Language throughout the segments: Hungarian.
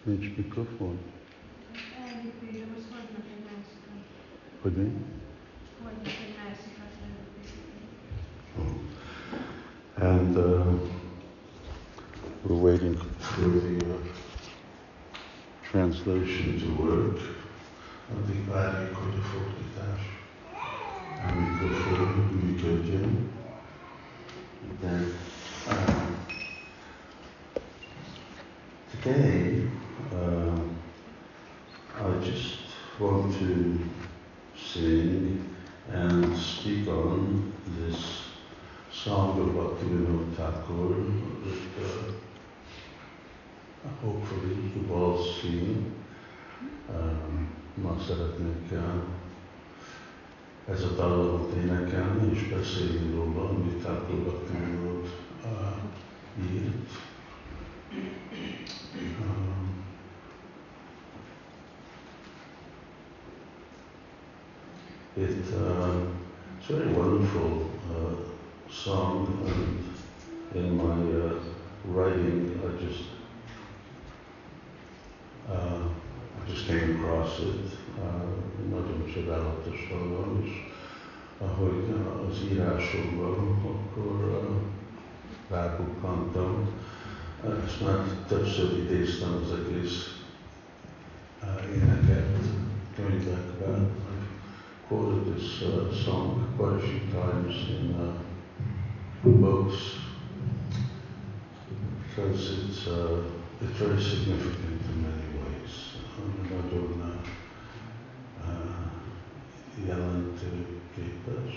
Nincs mikrofon? Elhívjuk, most hoznak egy másikat. Hogy mi? Hoznak egy másikat előkészíteni. And we're waiting for the translation to work. Addig várjuk, hogy a fordítás a mikrofon működjön. Then, today, I just want to sing and speak on this song of Bhaktivinoda Thakur that hopefully you've all seen. Ma szeretnék ez a dallamot énekelni és beszélni róla, amit Thakur Bhaktivinoda írt. It's a very wonderful song, and in my writing, I just came across it. Nagyon csodálatos dallam, és ahogy az írásomban, akkor rábukkantam. Ezt már többször idéztem az egész éneket könyvekben. I've quoted this song quite a few times in books because it's very significant in many ways. Nagyon jelentőképes.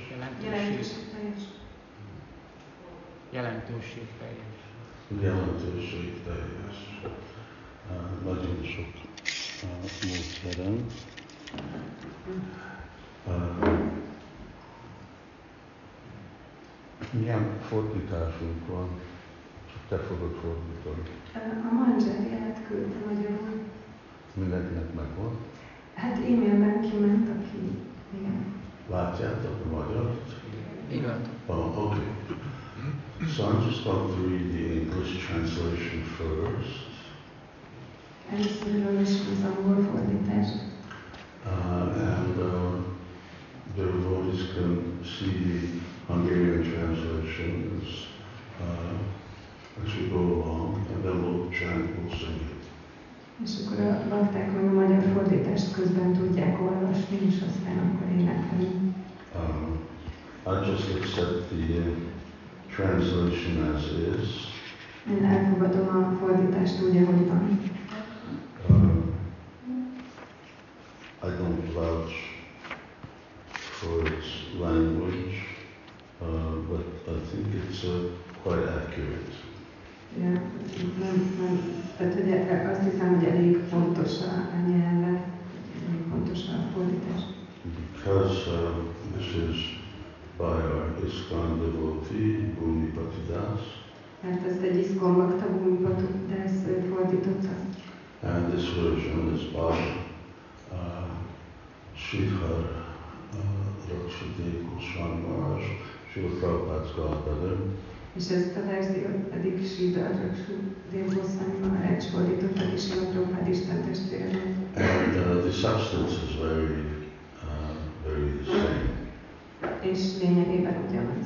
Jelentőségteljes. Nagyon sok módszeren. Milyen fordításunk van? Csak te fogod fordítani. A Manzseriát küldte magyarul. Mindenkinek megvan? Hát e-mailben kiment, aki... Igen. Látjátok a magyart? Igen. Oh, okay. So I'm just going to read the English translation first. Először olvasom az angol fordítást. And the devotees can see the Hungarian translation as we go along, and then we'll chant, we'll sing it. És akkor a bakták meg a magyar fordítást közben tudják olvasni, és aztán akkor énekelni. I just accept the translation as is. Én elfogadom a fordítást úgy, ahogy van. I don't vouch for its language, but I think it's quite accurate. Ja, tehát hogy azt hiszem, hogy elég pontos a nyelve, elég pontos a fordítás. Because this is by our ISKCON devotee, Bhumipati Das. Mert ezt egy ISKCON bakta Bhumipati Das fordította. And this version is by Sridhar Rakshati Goswami Maharaj, Srila Prabhupada's godbrother. És ezt a verziót pedig Sridhar Rakshati Goswami Maharaj fordította, és Srila Prabhupada Isten testvére. And the substance is very the same. És lényegében ugyanaz.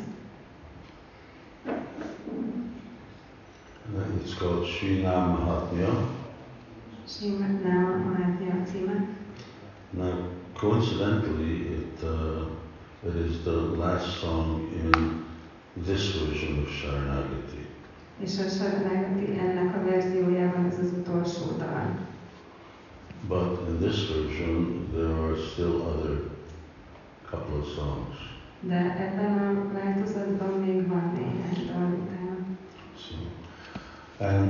And it's called Srinam Mahatmya. Srimad Mahatmya a címe. Now, coincidentally, it is the last song in this version of Sharanagati. És a Sharanagati ennek a verziójában ez az utolsó dal. But in this version, there are still other couple of songs. De ebben a változatban még van néhány dal utána. So, and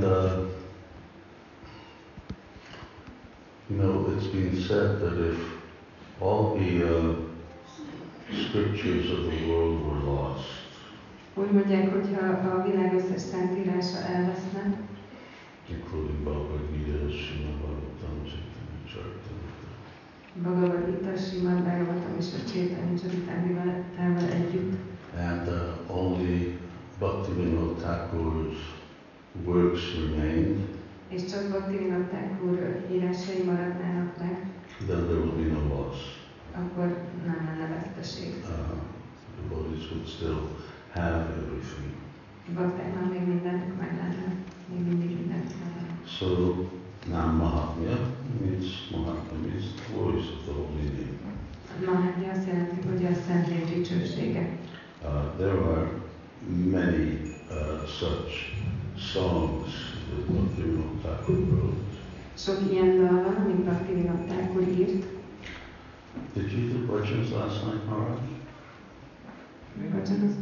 you know, it's been said that if all the scriptures of the world were lost, úgy mondják, hogyha a világ összes szentírása elveszne, including Bhagavad Gita, Srimad Bhagavatam, Chaitanya Charitamrita, Bhagavad Gita, Srimad Bhagavatam és a Chaitanya Charitamritával együtt, and only Bhaktivinoda Thakur's works remained, és csak Bhaktivinoda Thakur írásai maradnának meg, then there would be no loss. akkor nem lenne veszteség. Devotees would still have everything. Baktáknak még mindenük meg lenne, még mindig mindent meg lenne. So, Nam Mahatmya means the glories of the holy name. Mahatmya azt jelenti, hogy a Szentlény dicsősége. There are many such songs that Bhaktivinoda Thakur wrote. Sok ilyen dal van, amit Bhaktivinoda Thakur írt. Did you do bhajans last night, Maharaj? Bhajans?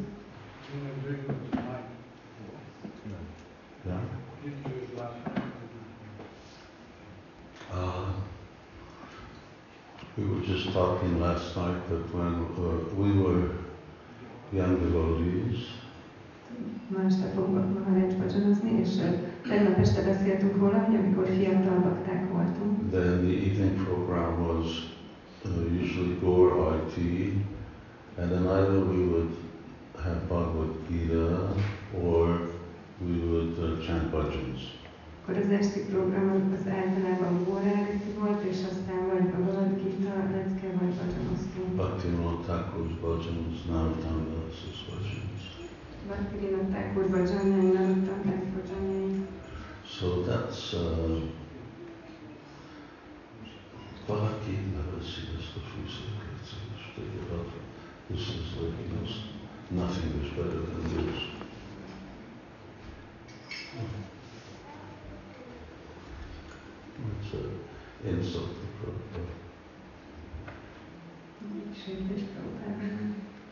Yeah. We were just talking last night that when we were young devotees, Ma este fogok Maharaj bhajanozni, és tegnap este beszéltünk róla, hogy amikor fiatal bakták voltunk. then the evening program was usually Gaur IT, and then either we would have Bhagavad Gita or we would chant bhajans. Akkor az esti program az általában Gaur-áriti volt, és aztán vagy Bhagavad Gita lecke, vagy bhajanoztunk. Bhaktivinoda Thakur's bhajans, Narottam Das's bhajans. Bhaktivinoda Thakur bhajanjai, Narottam Das bhajanjai. So that's Bhakti Navasidas the Fusa. Let's take it up. This is like, nothing is better than this. It's an insult to Prabhupada. Sértés Prabhupádnak.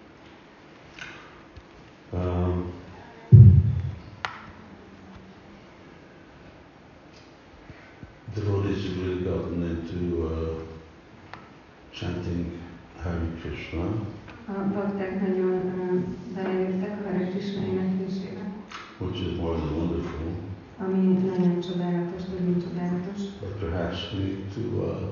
Devotees have really gotten into chanting Hare Krishna. A bakták nagyon belejöttek a Hare Krishna éneklésébe, Which is more than wonderful, ami nagyon csodálatos, nagyon csodálatos. but perhaps we need to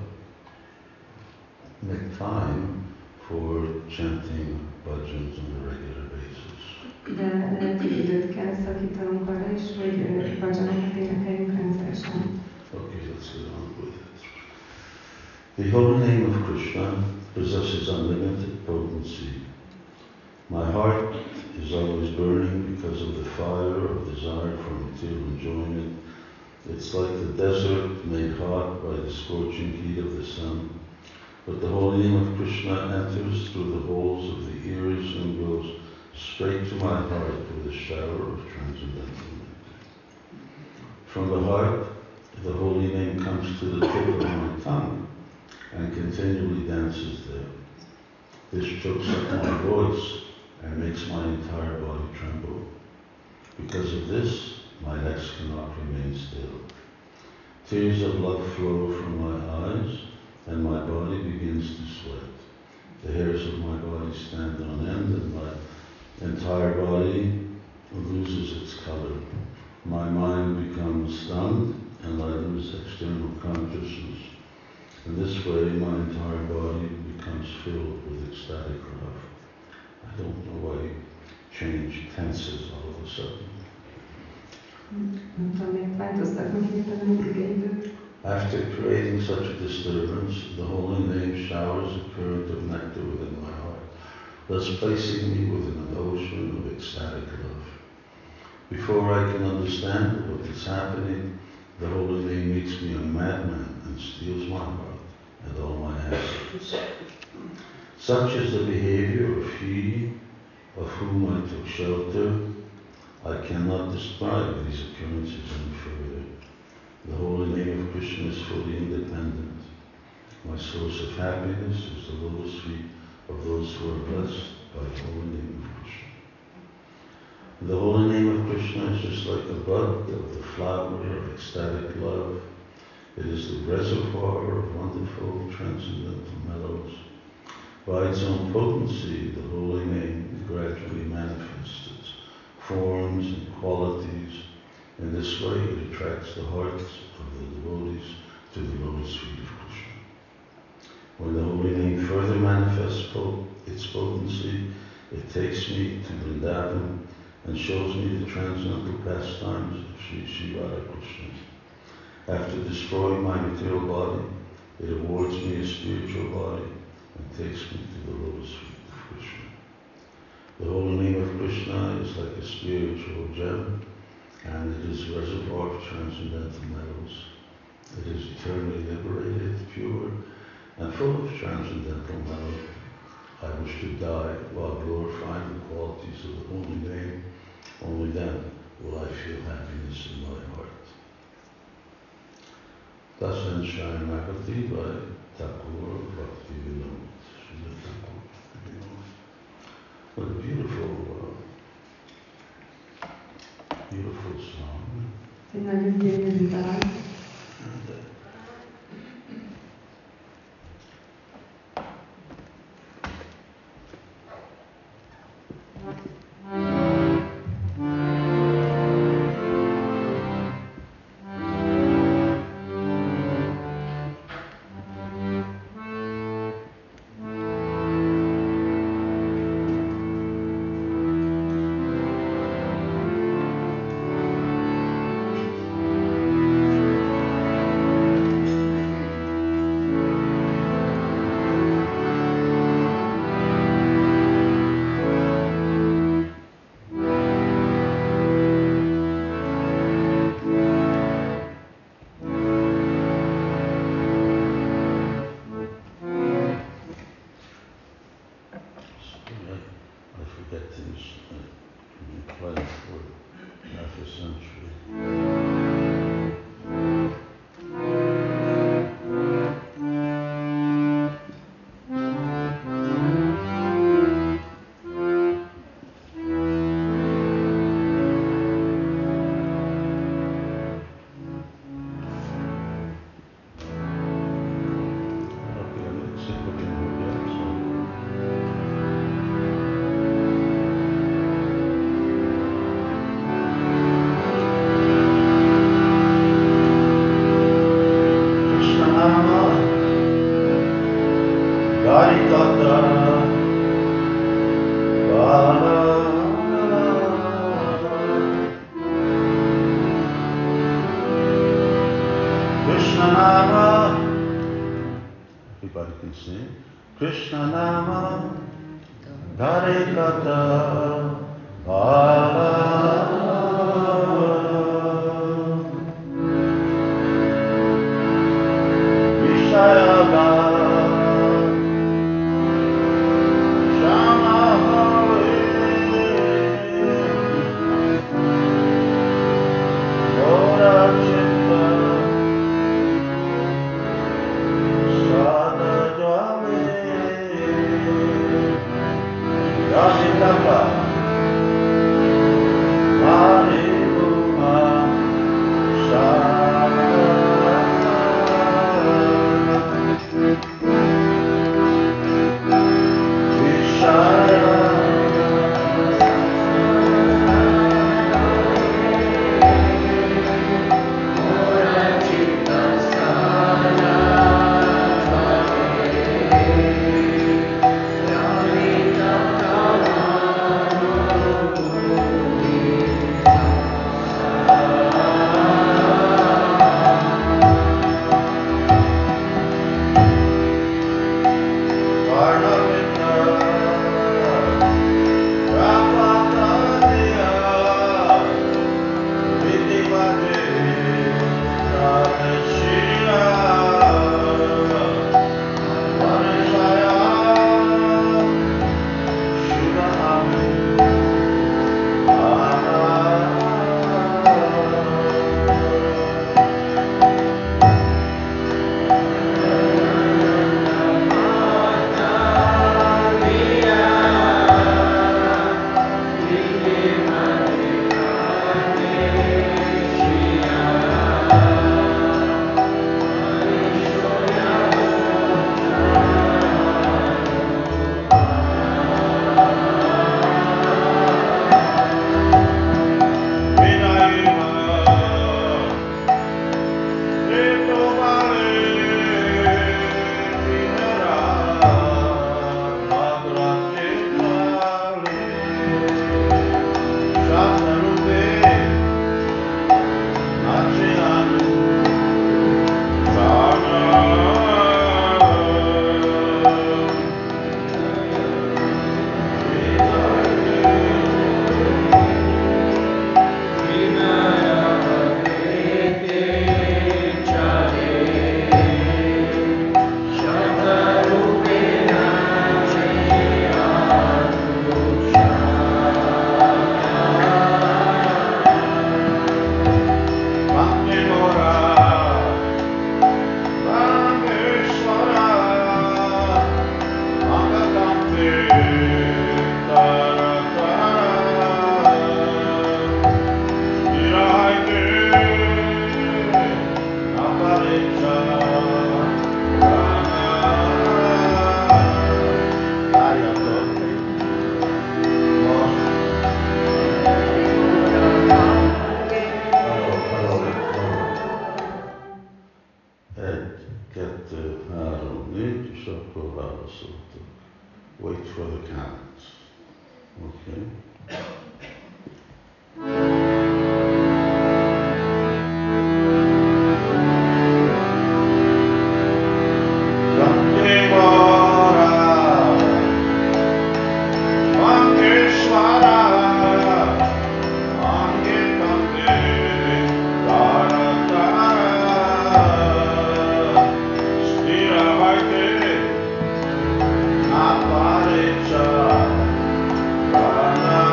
make time for chanting bhajans on a regular basis. De lehet, hogy időt kell szakítanunk arra is, hogy bhajanokat énekeljünk rendszeresen. Okay, let's get on with it. The holy name of Krishna possesses unlimited potency. My heart is always burning because of the fire of desire for material enjoyment. It's like the desert made hot by the scorching heat of the sun. But the holy name of Krishna enters through the holes of the ears and goes straight to my heart with a shower of transcendental nectar. From the heart, the holy name comes to the tip of my tongue and continually dances there. This chokes up my voice and makes my entire body tremble. Because of this, my legs cannot remain still. Tears of love flow from my eyes and my body begins to sweat. The hairs of my body stand on end and my entire body loses its color. My mind becomes stunned and I lose external consciousness. In this way, my entire body becomes filled with ecstatic love. I don't know why you change tenses all of a sudden. After creating such a disturbance, the holy name showers a current of nectar within my heart, thus placing me within an ocean of ecstatic love. Before I can understand what is happening, the holy name makes me a madman and steals my heart and all my assets. Such is the behavior of he of whom I took shelter. I cannot describe these occurrences any further. The holy name of Krishna is fully independent. My source of happiness is the lotus feet of those who are blessed by the holy name of Krishna. The holy name of Krishna is just like a bud of the flower of ecstatic love. It is the reservoir of wonderful transcendental mellows. By its own potency, the holy name gradually manifests its forms and qualities. In this way, it attracts the hearts of the devotees to the lotus feet of Krishna. When the holy name further manifests its potency, it takes me to Vrindavan and shows me the transcendental pastimes of Sri Radha Krishna. After destroying my material body, it awards me a spiritual body and takes me to the lotus feet of Krishna. The holy name of Krishna is like a spiritual gem, and it is a reservoir of transcendental metals. It is eternally liberated, pure, and full of transcendental metal. I wish to die while glorifying the qualities of the holy name. Only then will I feel happiness in my heart. Dasan Sharanagati by Thakur Bhaktivinoda. Srila Thakur Bhaktivinoda. What a beautiful song. Egy nagyon gyönyörű dal. Everybody can sing. Krishna Nama Hare Kata Vishayada so to wait for the counts. Okay? Aparecha,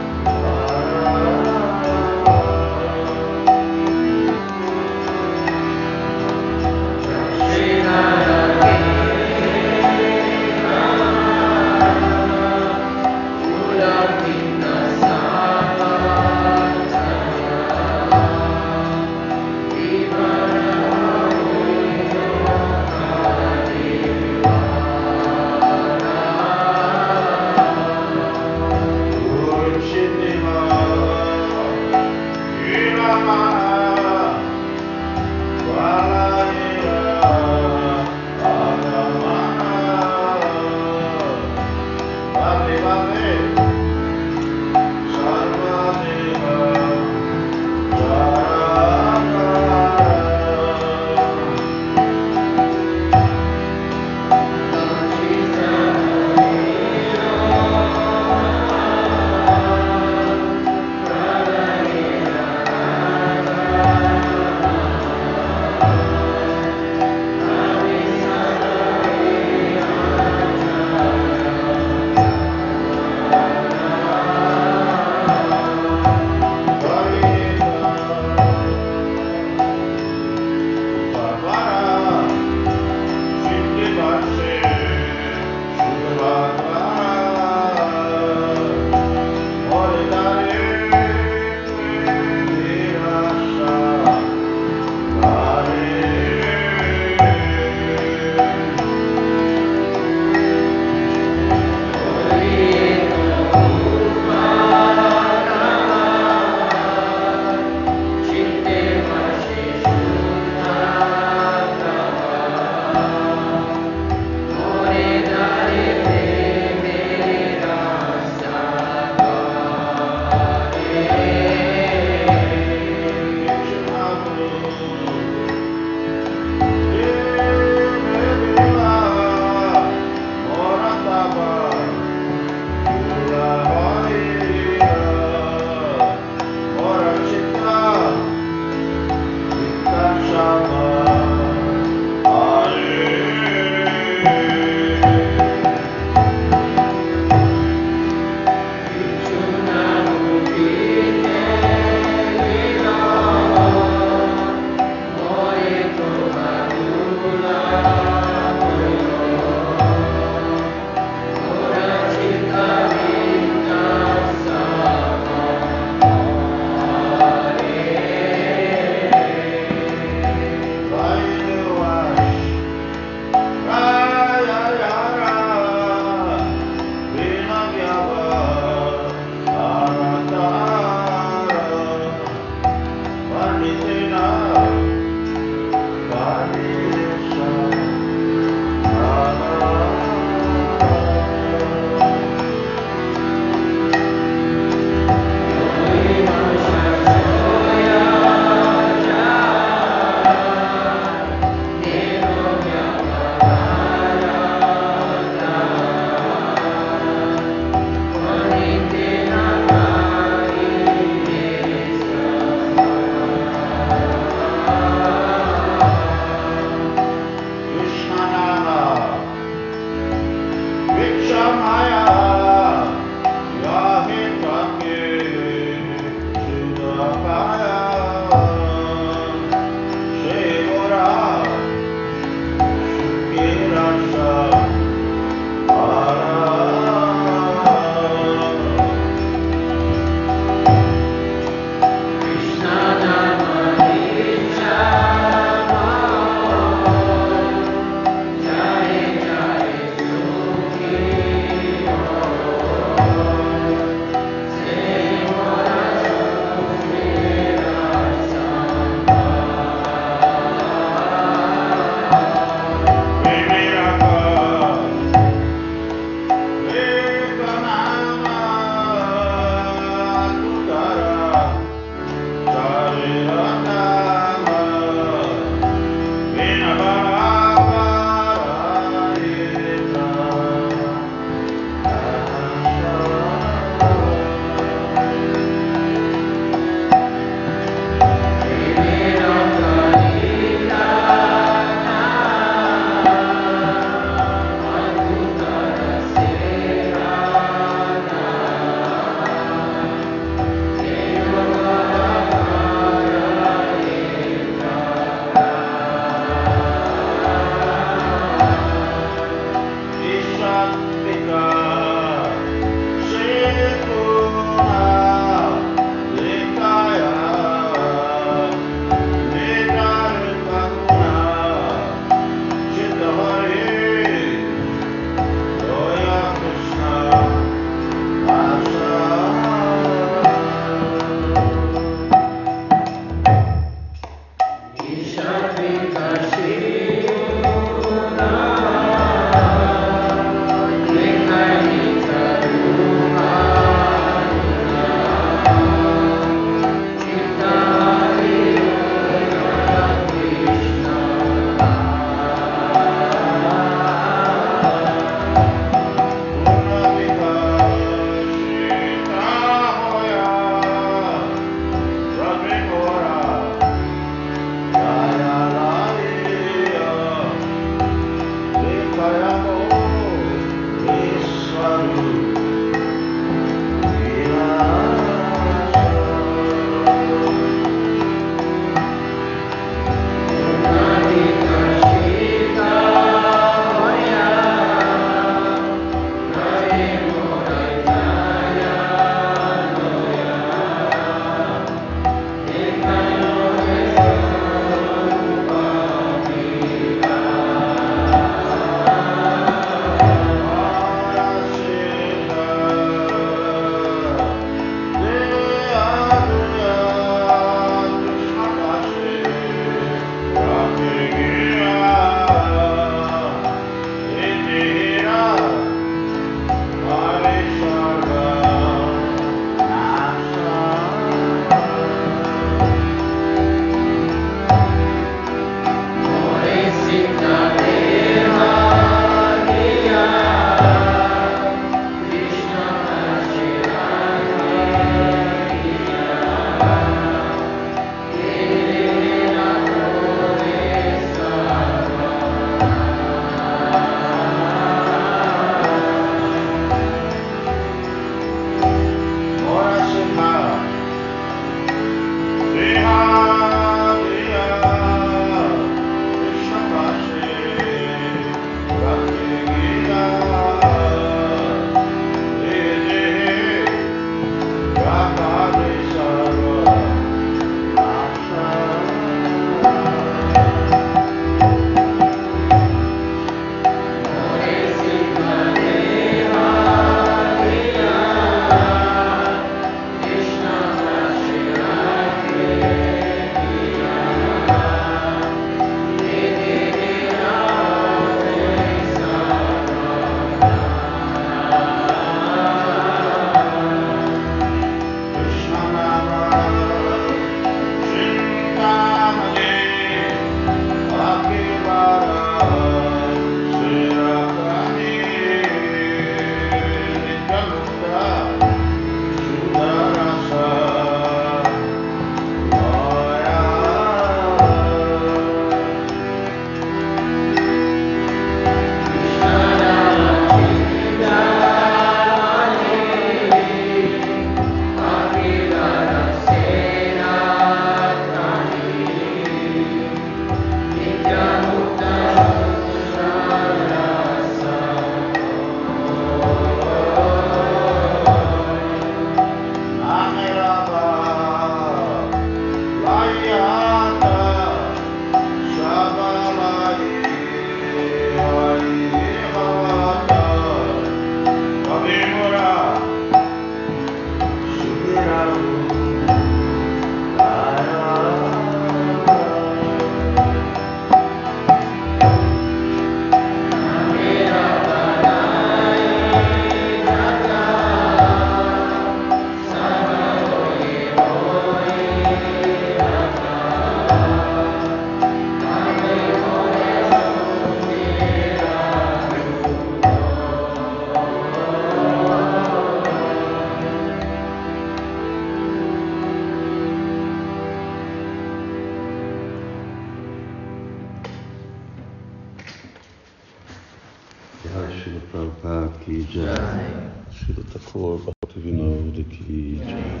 Prabhupada ki jai. Srila Thakur Bhaktivinoda ki jai.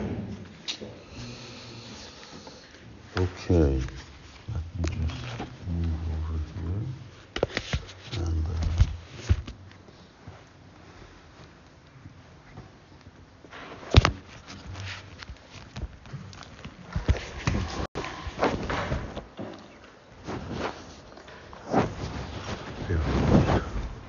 Okay, let me just move over here and here.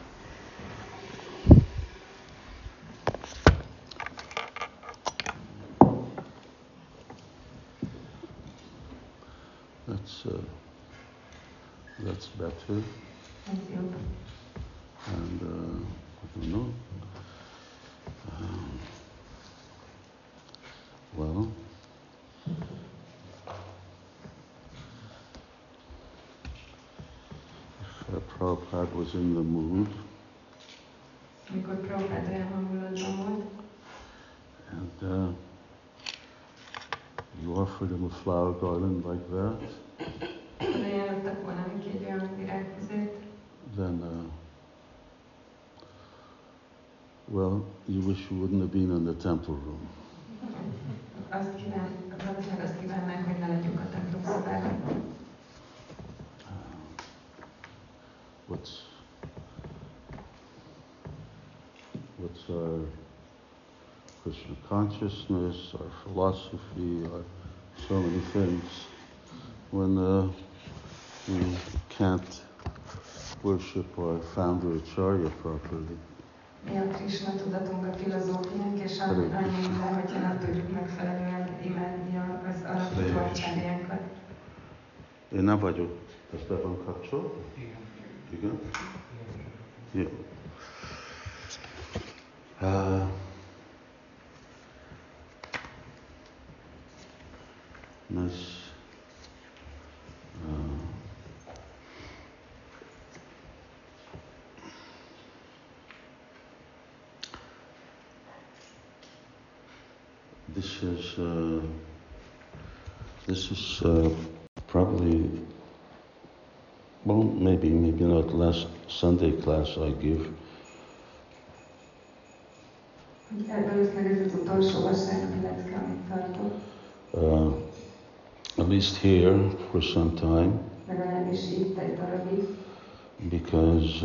That's better. Ez jobb. And I don't know. Well, if Prabhupada was in the mood, Amikor Prabhupád olyan hangulatban volt, and you offered him a flower garden like that, ajánlottak volna neki egy olyan virágfüzet, then, well, you wish you wouldn't have been in the temple room. valószínűleg azt kívánnánk, hogy ne legyünk a templom szobában. What's our Krishna consciousness, our philosophy, our so many things, when we can't worship our founder Acharya properly. Mi a Krishna tudatunk, a filozófiánk, és annyi minden, hogyha nem tudjuk megfelelően imádni az alapító acsárjánkat. Én nem vagyok, ez be van kapcsolva? Igen. Jó. This is probably, well, maybe not the last Sunday class I give. At least here for some time, because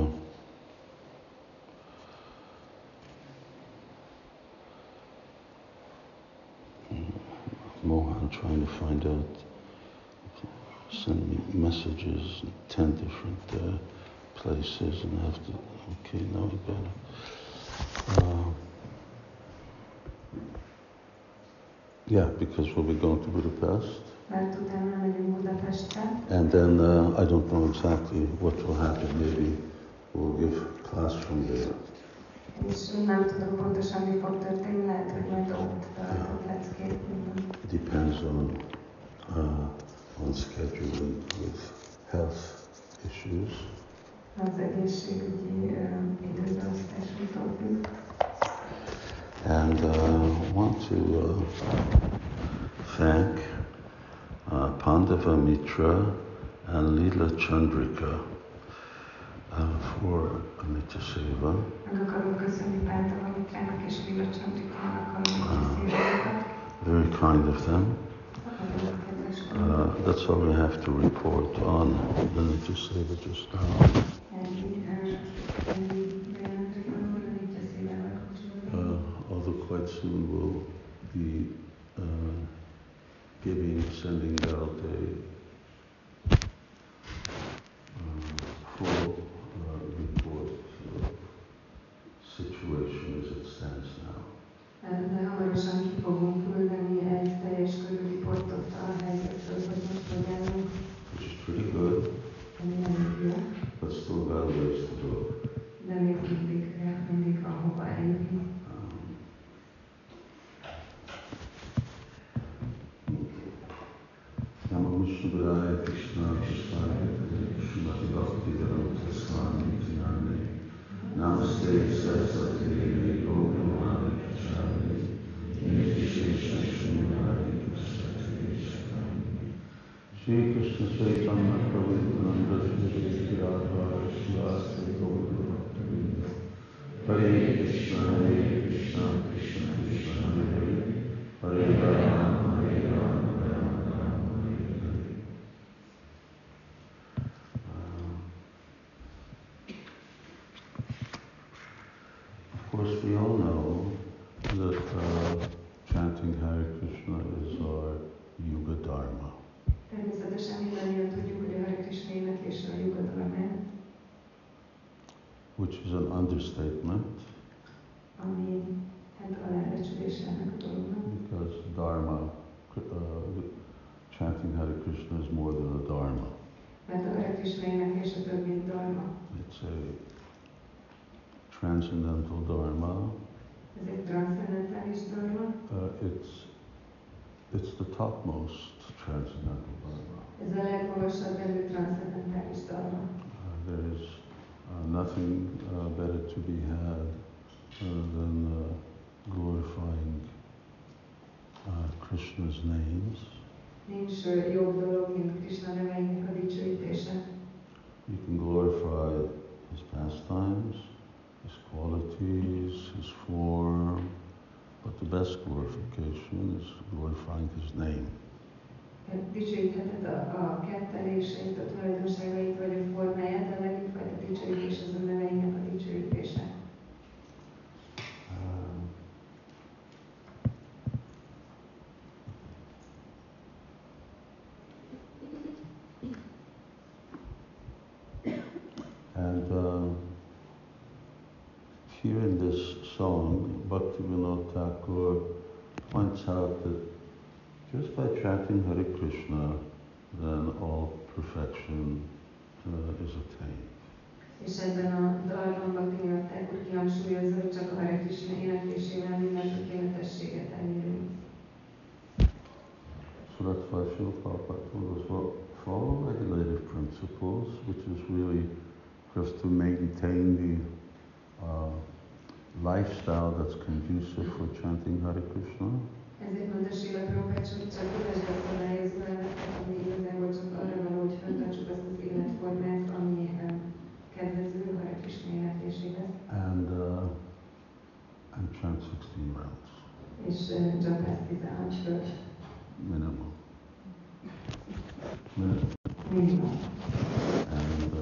Mohan trying to find out, send me messages in 10 different places, and I have to, okay, now we got it. Yeah, because we'll be going to Budapest. And then I don't know exactly what will happen. Maybe we'll give class from there. Depends on scheduling with health issues. And I want to thank Pandava Mitra and Leela Chandrika for Amita Seva. Very kind of them. That's all I have to report on Amita Seva just now. Although quite soon we'll be sending out a full report situation as it stands now. De hamarosan ki fogunk küldeni egy teljes körű riportot a helyzetről, hogy most hogy állunk. Which is pretty good. But still got a ways to go. De még mindig van hova eljutni. Namo Vishnupadaya Krishna Krishna Srimati Bhaktivedanta Swami Nityanande Namaste Saraswati Devi Gauravani Pracharya Nirvishesha Srimati Krishna Shri Krishna Chaitanya Prabhu Nityananda Shri Radha Shri Gaurav Bhaktivinoda Hare Krishna, Krishna Krishna, Hare Hare, Hare Rama, Hare Rama, Rama Rama, Hare Hare. Of course, we all know that chanting Hare Krishna is our Yuga Dharma. Természetesen mindannyian tudjuk, hogy a Hare Krishna éneklés a Yuga Dharma, Which is an understatement. Ami hát alábecsülése ennek a dolognak. Because Dharma, chanting Hare Krishna is more than a Dharma. Mert a Hare Krishna éneklés a több, mint Dharma. It's a transcendental Dharma. Ez egy transzcendentális Dharma. It's the topmost transcendental Dharma. Ez a legmagasabb rendű transzcendentális Dharma. There is nothing better to be had than glorifying Krishna's names. Nincs jobb dolog, mint Krishna neveinek a dicsőítése. You can glorify his pastimes, his qualities, his form, but the best glorification is glorifying his name. Dicsőítheted a ketteléseit, a tulajdonságait vagy a formáját, de a legjobb fajta dicsőítés az a neveinek a dicsőítése. And here in this song, Bhaktivinoda Thakur points out that just by chanting Hare Krishna, then all perfection is attained. És ebben a dalban Bhaktivinoda Thakur kihangsúlyozza, hogy csak a Hare Krishna éneklésével minden tökéletességet elérünk. So that's why Srila Prabhupada told us, well, follow regulative principles, which is really just to maintain the lifestyle that's conducive for chanting Hare Krishna. Ezért mondta Srila Prabhupada, hogy csak kövesd a szabályozó elveket, ami igazából csak arra való, hogy fenntartsuk azt az életformát, ami kedvező Hare Krishna énekléséhez. And chant 16 rounds. És Japát 16 fölött. Minimum. Minimum. And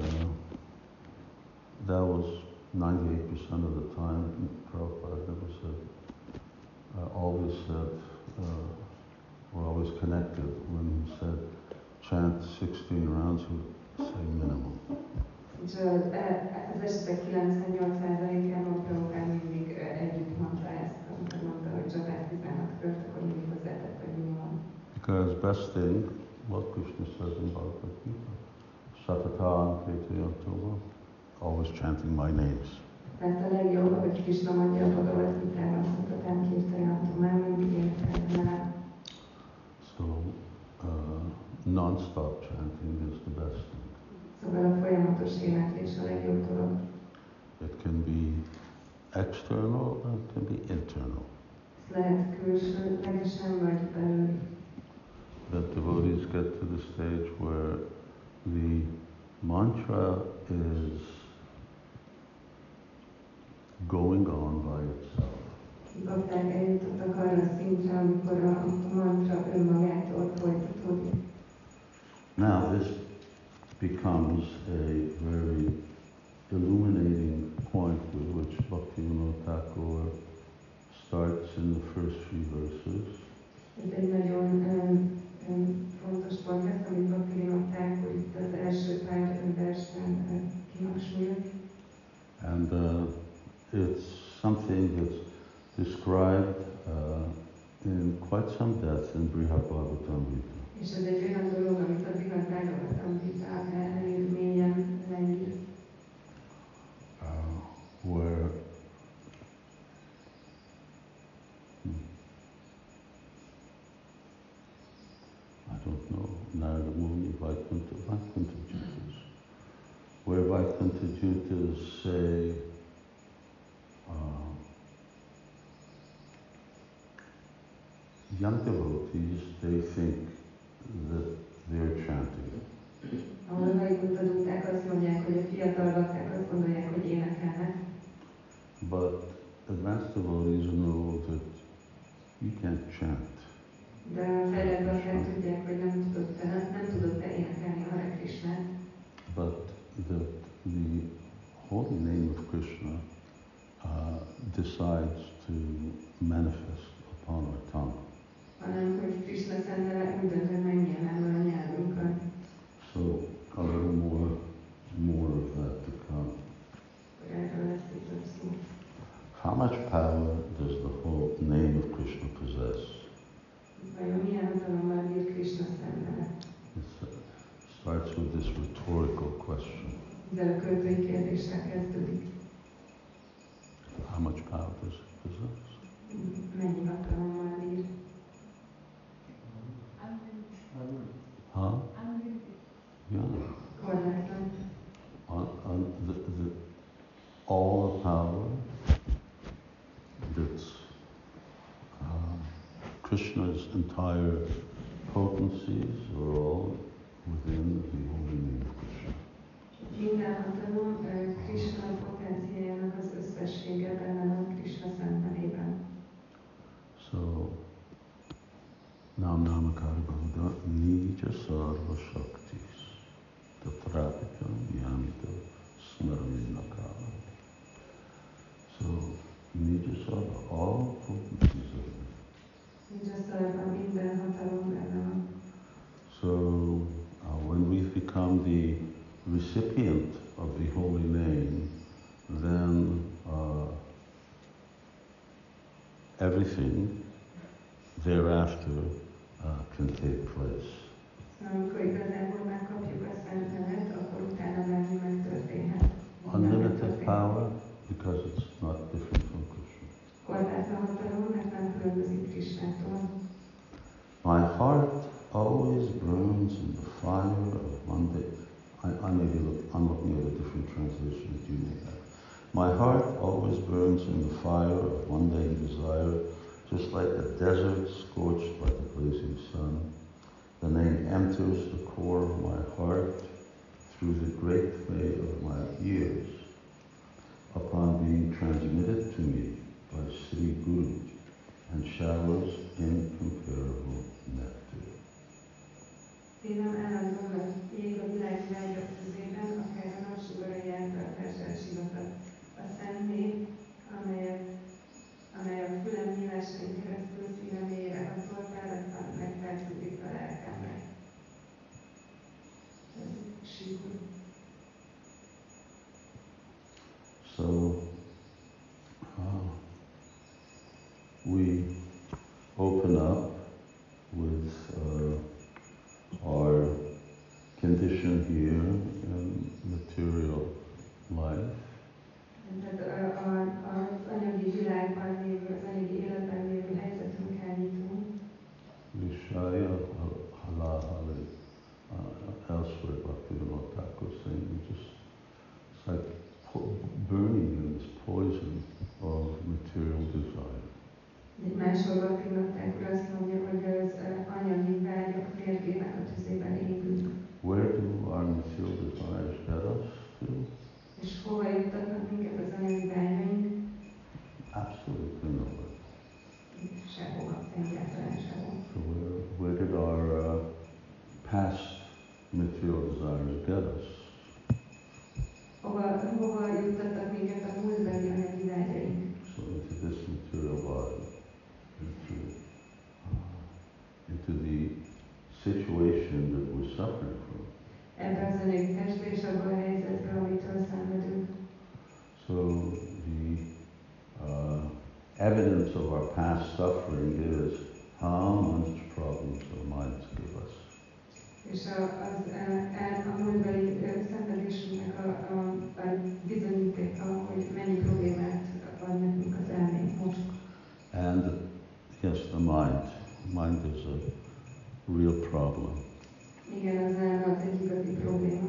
that was 98% of the time. Prabhupada never said, always said, we're always connected. When he said chant 16 rounds, he would say minimum. És az esetek 98%-ában Prabhupada mindig együtt mondta ezt, amikor mondta, hogy Japát 16 fölött, akkor mindig hozzátett, hogy minimum. Because best thing, what Krishna says in Bhagavad Gita, Satatan Kirtayantova, always chanting my names. Mert a legjobb, hogy Krishna mondja a Bhagavad Gitában, Satatan Kirtayantova, már mindig énekeljen. So non-stop chanting is the best thing. Szóval a folyamatos éneklés a legjobb dolog. It can be external and it can be internal. Ez lehet külsőlegesen vagy belül. That devotees get to the stage where the mantra is going on by itself. Bakták eljutottak arra a szintre, amikor a mantra önmagától folytatódik. Now this becomes a very illuminating point with which Bhaktivinoda Thakur starts in the first few verses. Ez egy nagyon fontos pont lesz, amit Bhaktivinoda Thakur itt az első pár versben kihangsúlyoz. And it's something that's described in quite some depth in Brihad Bhagavatam Gita. És ez egy olyan dolog, amit a Brihad Bhagavatam Gita elég mélyen leír. Where I don't know, Narada Muni, Vaikuntha Jutas, where Vaikuntha Jutas say, young devotees, they think that they're chanting. Ahol Vaikuntha Juták azt mondják, hogy a fiatal bakták azt gondolják, hogy énekelnek. But starts with this rhetorical question. Ezzel a költői kérdéssel kezdődik. How much power does it possess? Mennyi hatalommal bír? Huh? Yeah. Korlátlan. All the power that's Krishna's entire potencies are all within the holy name of Krishna. Minden hatalom Krishna potenciájának az összessége benne van Krishna szent nevében. So, Nam Namakara Bhagavata Nija Sarva Shaktis Tatrapika Yamita Smaranakara. So, Nija Sarva, all potencies of it. Nincs a szarva, minden hatalom benne van. So, when we've become the recipient of the holy name, then everything thereafter can take place. Amikor igazából megkapjuk a szent nevet, akkor utána bármi megtörténhet. Unlimited power, because it's not different from Krishna. Korlátlan hatalom, mert nem különbözik Krishnától. My heart always burns in the fire of Monday. I'm looking at a different translation that you may have. My heart always burns in the fire of mundane desire, just like a desert scorched by the blazing sun. The name enters the core of my heart through the great way of my ears, upon being transmitted to me by Sri Guru, and showers incomparable nectar. Szívem állandóan ég a világ vágyak tüzében, akár a napsugarai által sivatag. A szent név, amely a fülem nyílásain keresztül szívem mélyére hatol, páratlan megfelszűdik a lelkemre. Ez síkul. So, we open up with our condition here in material life. Tehát az anyagi világban lévő, az anyagi életben lévő helyzetünkkel nyitunk. Vishaya halahali. Elsewhere, Bhaktivinoda Thakur saying, it's like burning in this poison of material desire. Máshol Bhaktivinoda Thakur azt mondja, hogy az anyagi vágyak férgének a tüzében égünk. Where do our material desires get us to? És hova juttatnak minket az anyagi vágyaink? Absolutely nowhere. Sehova, egyáltalán sehova. So where did our past material desires get us? Hova juttattak minket a múltbeli anyagi vágyaink? So into this material body, into the situation that we're suffering from. Ebbe az anyagi testbe és abban a helyzetben, amitől szenvedünk. So the evidence of our past suffering is how much problems our minds give us. És a múltbeli szenvedésünknek a bizonyítéka, hogy mennyi problémát ad nekünk az elménk most. And yes, the mind is a real problem. Igen, az elme az egy igazi probléma.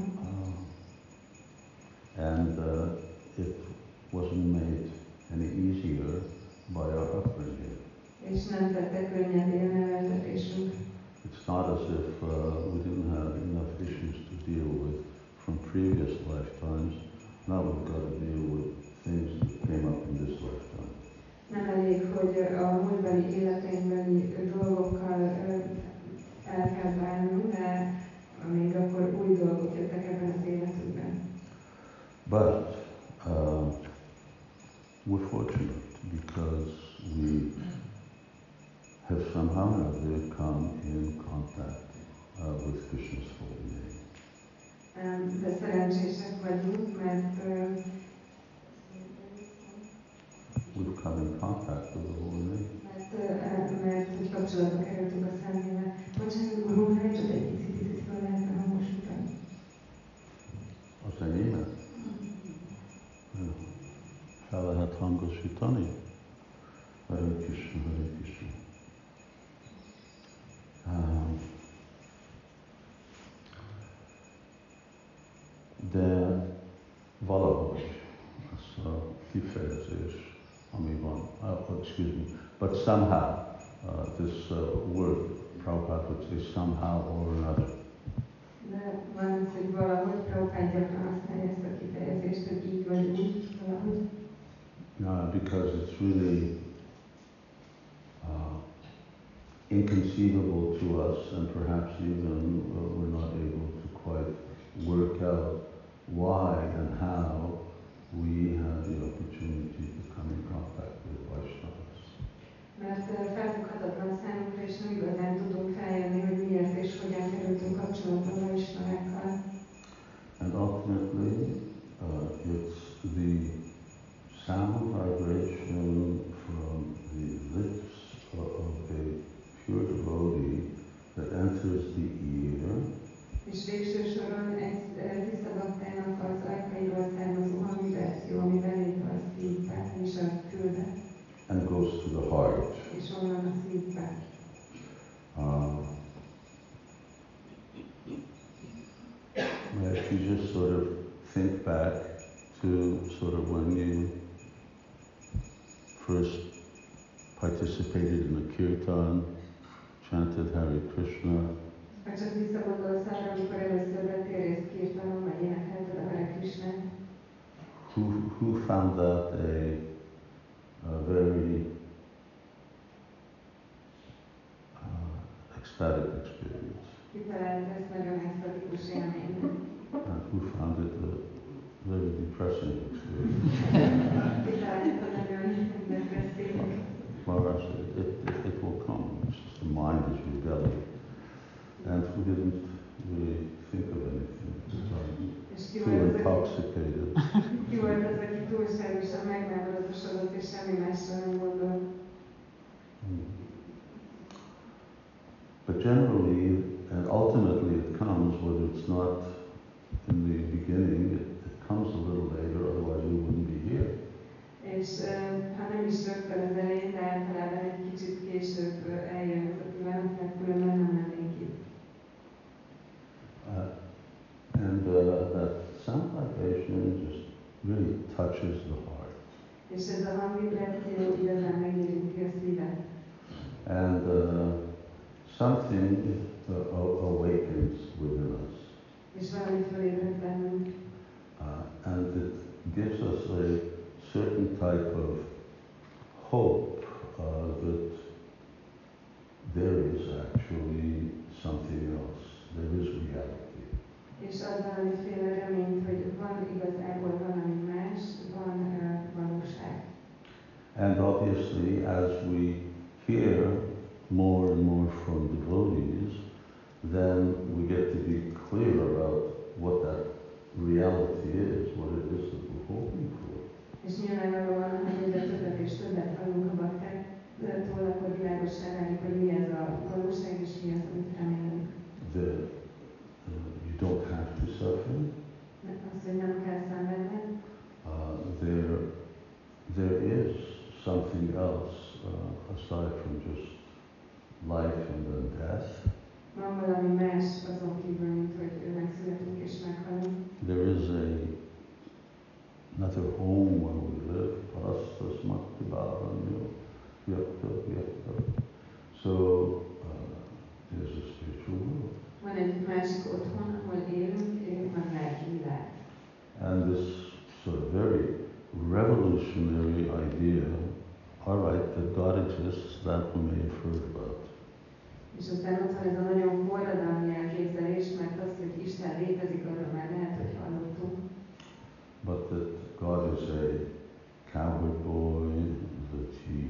And it wasn't made any easier by our upbringing. És nem tette könnyebbé a neveltetésünk. It's not as if we didn't have enough issues to deal with from previous lifetimes. Now we've got to deal with things that came up in this lifetime. Nem elég, hogy a múltbeli életeinkbeli dolgokkal el kell bánnunk, de még akkor új dolgok jöttek ebben az életünkben. But we're fortunate because we have somehow or other come in contact with Krishna's holy name. De szerencsések vagyunk, mert We've come in contact with the holy name. mert úgy kapcsolatba kerültünk a Szentnével. Bocsánat, Guru, csak egy picit föl lehetne hangosítani. Kirtani. Hare Krishna, Hare Krishna. De valahogy az a kifejezés, ami van, excuse me, but somehow, this word, Prabhupada would say somehow or another. De van az, hogy valahogy Prabhupada gyakran használja ezt a kifejezést, hogy így vagy úgy, valahogy. Because it's really inconceivable to us, and perhaps even we're not able to quite work out why and how we have the opportunity to come in contact with Vaishnavas. Mert felfoghatatlan számunkra, és nem igazán tudunk feljönni, hogy miért és hogyan kerültünk kapcsolatba a Vaishnavákkal. And ultimately, it's the sound vibration from the lips of a pure devotee that enters the ear. És végső soron egy tisztabaktának az ajkairól származó hangvibráció, ami belép a szívbe és a fülbe. And goes to the heart. És onnan a szívbe. If you just sort of think back to sort of when you first participated in the kirtan, chanted Hare Krishna. Ha csak visszagondolsz arra, amikor először vettél részt kirtanon, vagy énekelted a Hare Krishnát. Who found that a very ecstatic experience? Kitalálta ezt nagyon extatikus élménynek. And who found it a very depressing experience? Kitalálta nagyon depresszív. Maharaj said, it will come. It's just the mind is rebelling. And we didn't really think of anything. Too intoxicated. Ki volt az, aki túlságosan megmámoratosodott, és semmi másra nem gondolt. But generally, and ultimately it comes, whether it's not in the beginning, it comes a little later, otherwise we wouldn't be here. És ha nem is rögtön az elején, de általában egy kicsit később eljön ez a pillanat, mert különben nem lennénk itt. And that sound vibration just really touches the heart. És ez a hangvibráció igazán megérinti a szívet. And something awakens within us. És valami fölébred bennünk. And it gives us a certain type of hope that there is actually something else. There is reality. És ad valamiféle reményt, hogy van igazából valami más, van valóság. And obviously, as we hear more and more from devotees, then we get to be clear about what that reality is, what it is that we're hoping for. És nyilvánvalóan, hogy egyre többet és többet hallunk a baktáktól, akkor világossá válik, hogy mi ez a valóság, és mi az, amit remélünk. You don't have to suffer. Azt, hogy nem kell szenvedned. There is something else aside from just life and then death. Van valami más azon kívül, mint hogy megszületünk és meghalunk. There is another home where we live. Parastasmati bhavanyo vyakta vyakta. So there's a spiritual world. Van egy másik otthon, ahol élünk, van lelki világ. And this sort of very revolutionary idea, all right, that God exists, that we may have heard about. És aztán ott van ez a nagyon forradalmi elképzelés, mert az, hogy Isten létezik, arról már lehet, hogy hallottunk. But that God is a cowherd boy, that he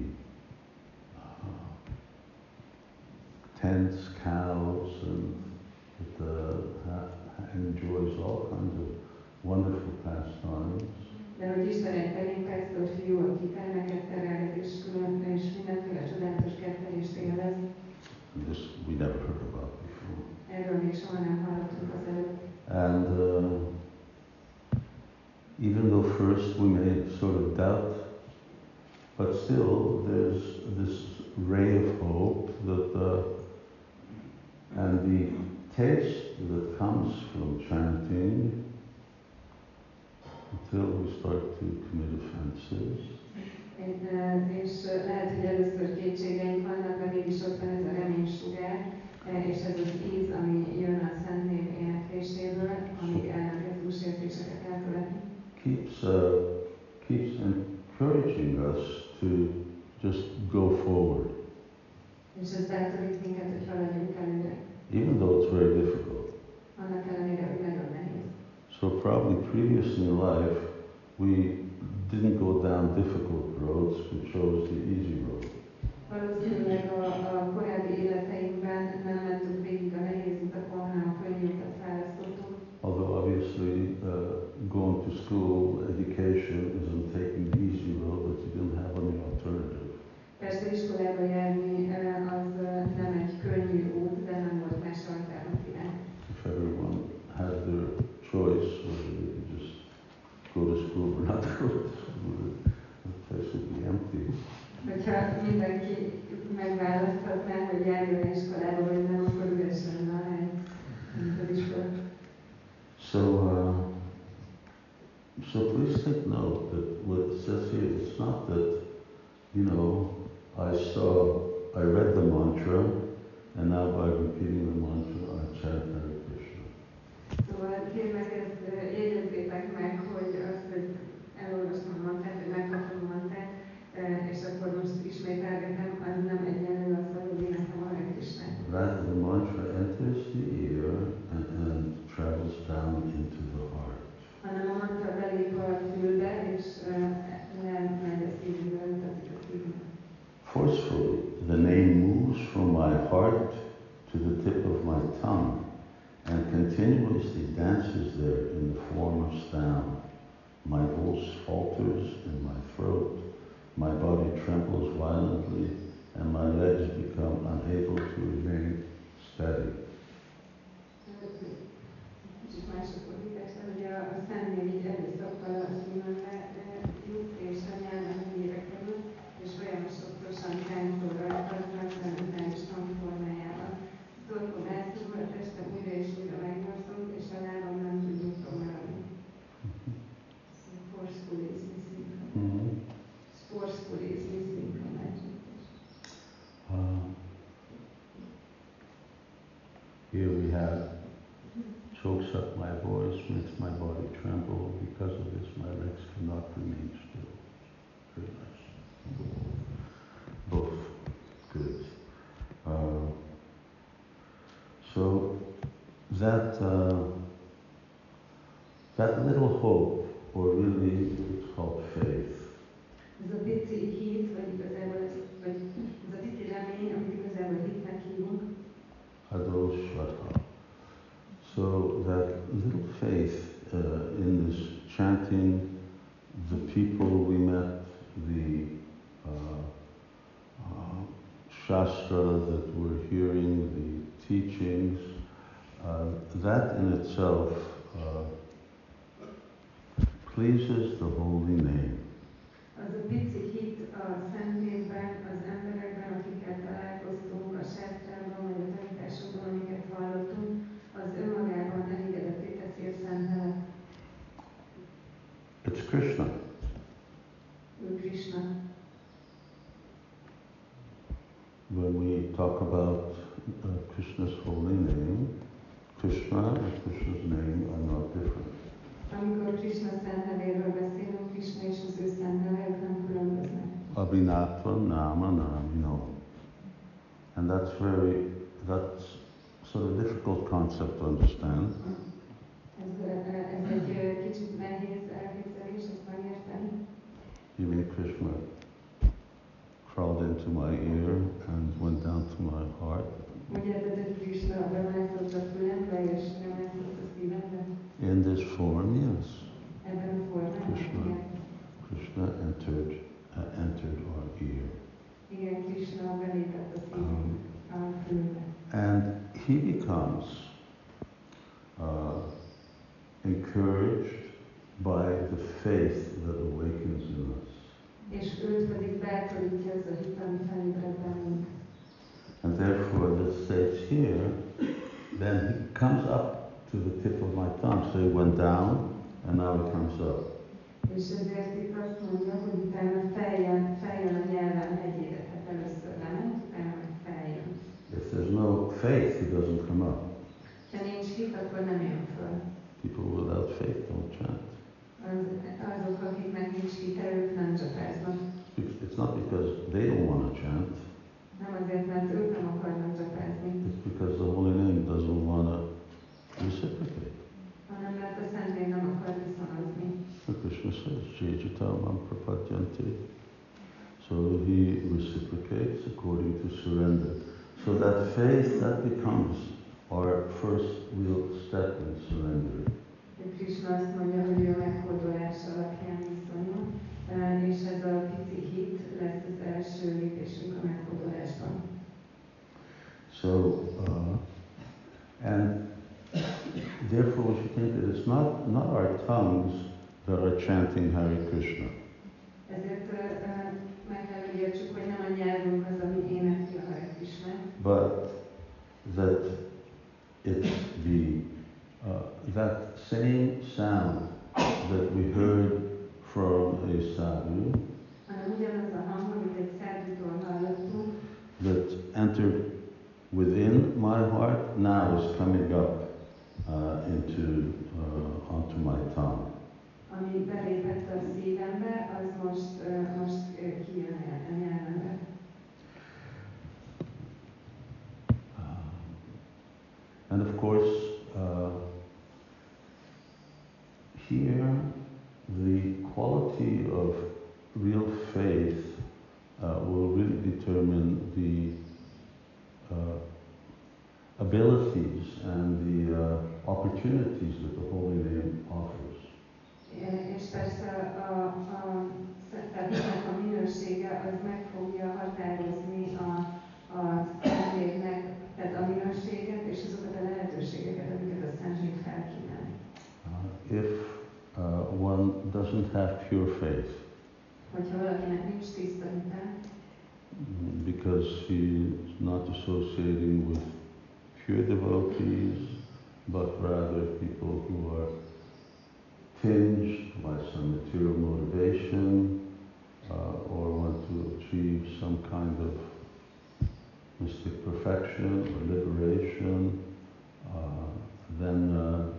tends cows and that enjoys all kinds of wonderful pastimes. De hogy Isten egy terénkásztor fiú, aki termeket terelget, és különböző és mindenféle csodálatos kettelést élvez. This we never heard about before. Erről még soha nem hallottunk az előtt. And even though first we may sort of doubt still, there's this ray of hope that, and the taste that comes from chanting until we start to commit offenses. És lehet, hogy először kétségeink vannak, de mégis ott van ez a reménysugár, és ez az íz, ami jön a Szent Név énekléséből, amíg elkezdő sértéseket elkövetni. Keeps encouraging us to just go forward. És ez bátorít minket, hogy haladjunk előre. Even though it's very difficult. Annak ellenére, hogy nagyon nehéz. So probably previously in life, we didn't go down difficult roads, we chose the easy road. Valószínűleg a korábbi életeinkben nem mentünk végig a nehéz utakon, hanem a könnyű utat választottuk. Although obviously going to school, education isn't taking the easy road, but you didn't have any alternative. Persze iskolába járni az nem egy könnyű út, de nem volt más alternatívánk. If everyone had their choice, whether they could just go to school or not go to school, the place would be empty. Hogyha mindenki megválaszthatná, hogy járjon iskolába, vagy nem, akkor üres lenne a hely, mint az iskola. So please take note that what it says here, it's not that, you know, I read the mantra, and now by repeating the mantra, I chant Hare Krishna. Szóval kérlek, ezt jegyezzétek meg, hogy azt, hogy elolvastam a mantrát, vagy megkaptam a mantrát, és akkor most ismételgetem, az nem egyenlő azzal, hogy éneklem a Hare Krishnát. Rather, the mantra enters the ear and travels down into the heart. Hanem a mantra belép a fülbe, és lemegy a szívbe, utazik a szívbe. Forcefully, the name moves from my heart to the tip of my tongue and continuously dances there in the form of sound. My voice falters in my throat, my body trembles violently, and my legs become unable to remain steady. Kicsit mások fordítás, hogy a Szentnév így erőszakkal a szívembe jut, és a nyelven mélyre kerül, és folyamatosan táncolva rajtaznak a mentális hangformájában. Az torkom elszúr, a testem újra és újra megnyorsult, és a lábam nem tud nyugton maradni. Forcefully is missing. Forcefully is missing from Here we have chokes up my voice, makes my body tremble. Because of this, my legs cannot remain still. Very nice. Both good. So that little hope, or really it's called faith. Ez a pici hit, vagy igazából vagy ez a pici remény, amit igazából hitnek hívunk. Adosvata. So that little faith in this chanting, the people we met, the Shastra that we're hearing, the teachings, that in itself pleases the holy name. Az a pici hit a Szent Névben, az emberekben, akikkel találkoztunk, a sástrában, vagy a tanításokban, amiket hallottunk, az önmagában elégedetté teszi a Szent Nevet. It's Krishna. Ő Krishna. When we talk about Krishna's holy name, Krishna and Krishna's name are not different. Amikor Krishna szent nevéről beszélünk, Krishna és az ő szent neve, ők nem különböznek. Abhinatva nama namino. And that's sort of a difficult concept to understand. Ez egy kicsit nehéz elképzelés, ezt megérteni. Even Krishna crawled into my ear and went down to my heart. In this form, yes. Krishna entered our ear. And he becomes encouraged by the faith that awakens in us. és őt pedig bátorítja ez a hit, ami felébred bennünk. And therefore, this states here, then he comes up to the tip of my tongue. So he went down, and now he comes up. És ezért itt azt mondja, hogy utána feljön a nyelven hegyére, tehát először lement, utána meg feljön. If there's no faith, he doesn't come up. Ha nincs hit, akkor nem jön föl. People without faith don't chant. Azok, akiknek nincs hite, ők nem csapáznak. It's not because they don't want to chant. Nem azért, mert ők nem akarnak csapázni, It's because the holy name doesn't want to reciprocate. hanem mert a Szentén nem akar viszonozni. So Krishna says, Jejjitamam prapadyanti. So he reciprocates according to surrender. So that faith, that becomes our first real step in surrendering. Krishna azt mondja, hogy ő meghódolás alapján viszonyul, és ez a pici hit lesz az első lépésünk a meghódolásban. So, and therefore we should think that it's not our tongues that are chanting Hare Krishna. Ezért meg kell, hogy értsük, hogy nem a nyelvünk az, ami énekli a Hare Krishna, But that it's that same sound that we heard from a sadhu hanem ugyanaz a hang, amit egy szádútól hallottunk, that entered within my heart now is coming up onto my tongue. ami belépett a szívembe, az most kijön a nyelvembe. And of course, here the quality of real faith will really determine the abilities and the opportunities that the Holy Name offers. És persze tehát a minősége az meg fogja határozni a Szentléleknek, tehát a minőséget és azokat a lehetőségeket, amiket a Szentlélek felkínál. If one doesn't have pure faith, Hogyha valakinek nincs tiszta hite, because he's not associating with pure devotees, but rather people who are tinged by some material motivation or want to achieve some kind of mystic perfection or liberation, then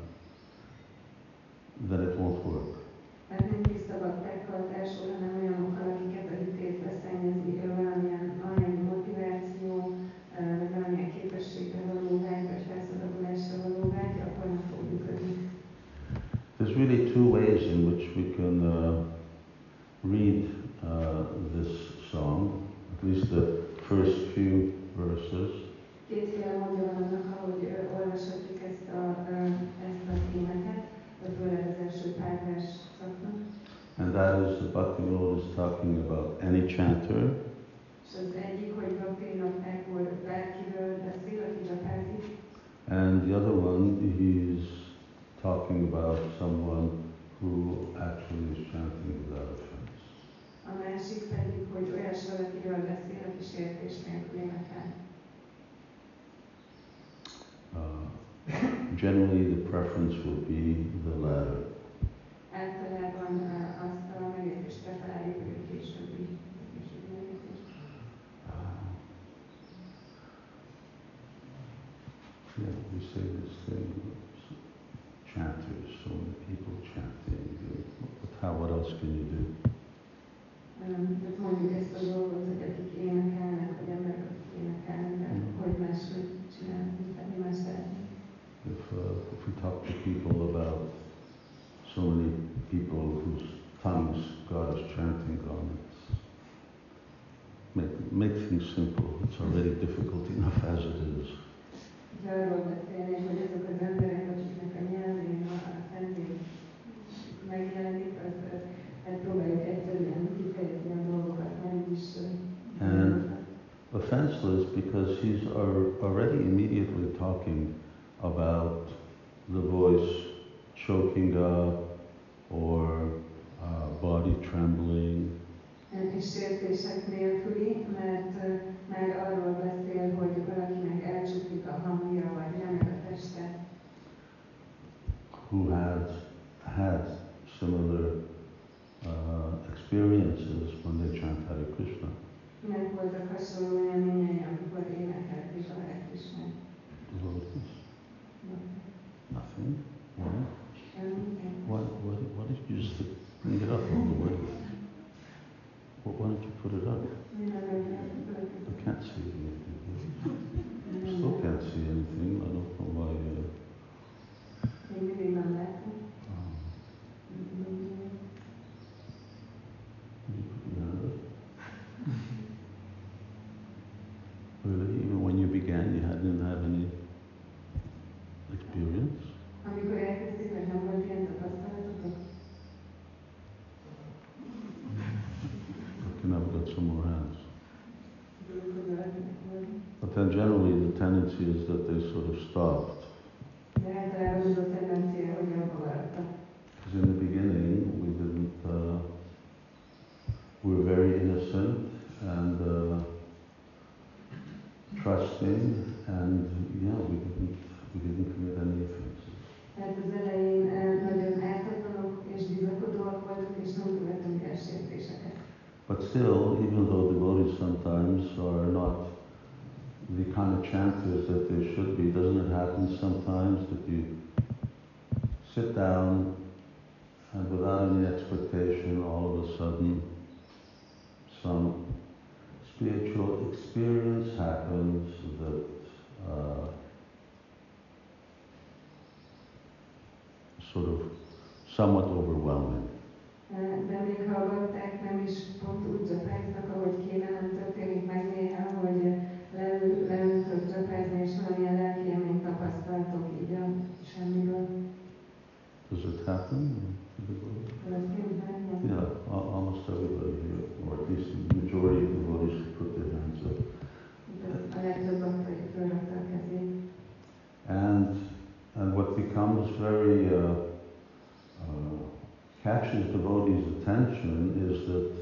it won't work. mert nem tiszta baktákkal társul, hanem olyanokkal, akiket a hitét leszennyezi, valamilyen motiváció, vagy valamilyen képességre való vágy, vagy felszabadulásra való vágy, akkor nem fog működni. There's really two ways in which we can read this song, at least the first few verses. Kétféle módja van annak, ahogy olvashatjuk ezt a témeket, vagy főleg az első pár vers szaknak. And that is that Bhaktivinoda is talking about any chanter, És az egyik, hogy Bhaktivinoda Thakur bárkiről beszél, aki csapázik. and the other one he's talking about someone who actually is chanting without offense. A másik pedig, hogy olyas valakiről beszél, aki sértés nélkül énekel. Generally, the preference will be the latter. Általában azt a megértést preferáljuk, hogy a későbbi megértést. Yeah, we say this thing, chanters, so many people chanting. What else can you do? Tehát mondjuk ezt a dolgot, hogy akik énekelnek, vagy emberek, akik énekelnek, de hogy máshogy csinálni, tehát mi más szeretnénk. If we talk to people about so many people whose tongues God is chanting on, make things simple. It's already difficult enough as it is. Ha arról beszélnék, hogy azok az emberek, akiknek a nyelvén a Szentlélek megjelenik, hát próbáljuk egyszerűen kifejezni a dolgokat, nem is. And offenseless because he's already immediately talking about the voice choking up or body trembling. kérdések nélküli, mert már arról beszél, hogy valakinek elcsuklik a hangja, vagy remeg a teste. Who has had similar experiences when they chant Hare Krishna. Kinek voltak hasonló élményei, amikor énekelték a Hare Krishnát? Devotees? Nothing? Why? Why did you just bring it up all the way? Well, why don't you put it up? I can't see anything. Still can't see anything. I don't know why. Még mindig nem látom. Really? Even when you began, you didn't have any experience? Amikor elkezdték, nem volt ilyen tapasztalatotok? Okay, now we've got some more hands. But then generally the tendency is that they sort of stopped. De általában az a tendencia, hogy abba maradtak. Because in the beginning we didn't, we were very innocent and trusting, and yeah, we didn't commit any offenses. Tehát az elején nagyon ártatlanok és bizakodóak voltak, és nem követünk el sértéseket. But still, even though devotees sometimes are not the kind of chanters that they should be, doesn't it happen sometimes that you sit down and without any expectation, all of a sudden, some spiritual experience happens that sort of somewhat overwhelming. De még hallgatták, nem is pont úgy csapáznak, ahogy kéne, nem történik meg néha, hogy leültök csapázni, és valamilyen lelki élményt tapasztaltok így a semmiből. Does it happen? Yeah, almost everybody here, or at least the majority of devotees put their hands up. And what becomes very catches devotees' attention is that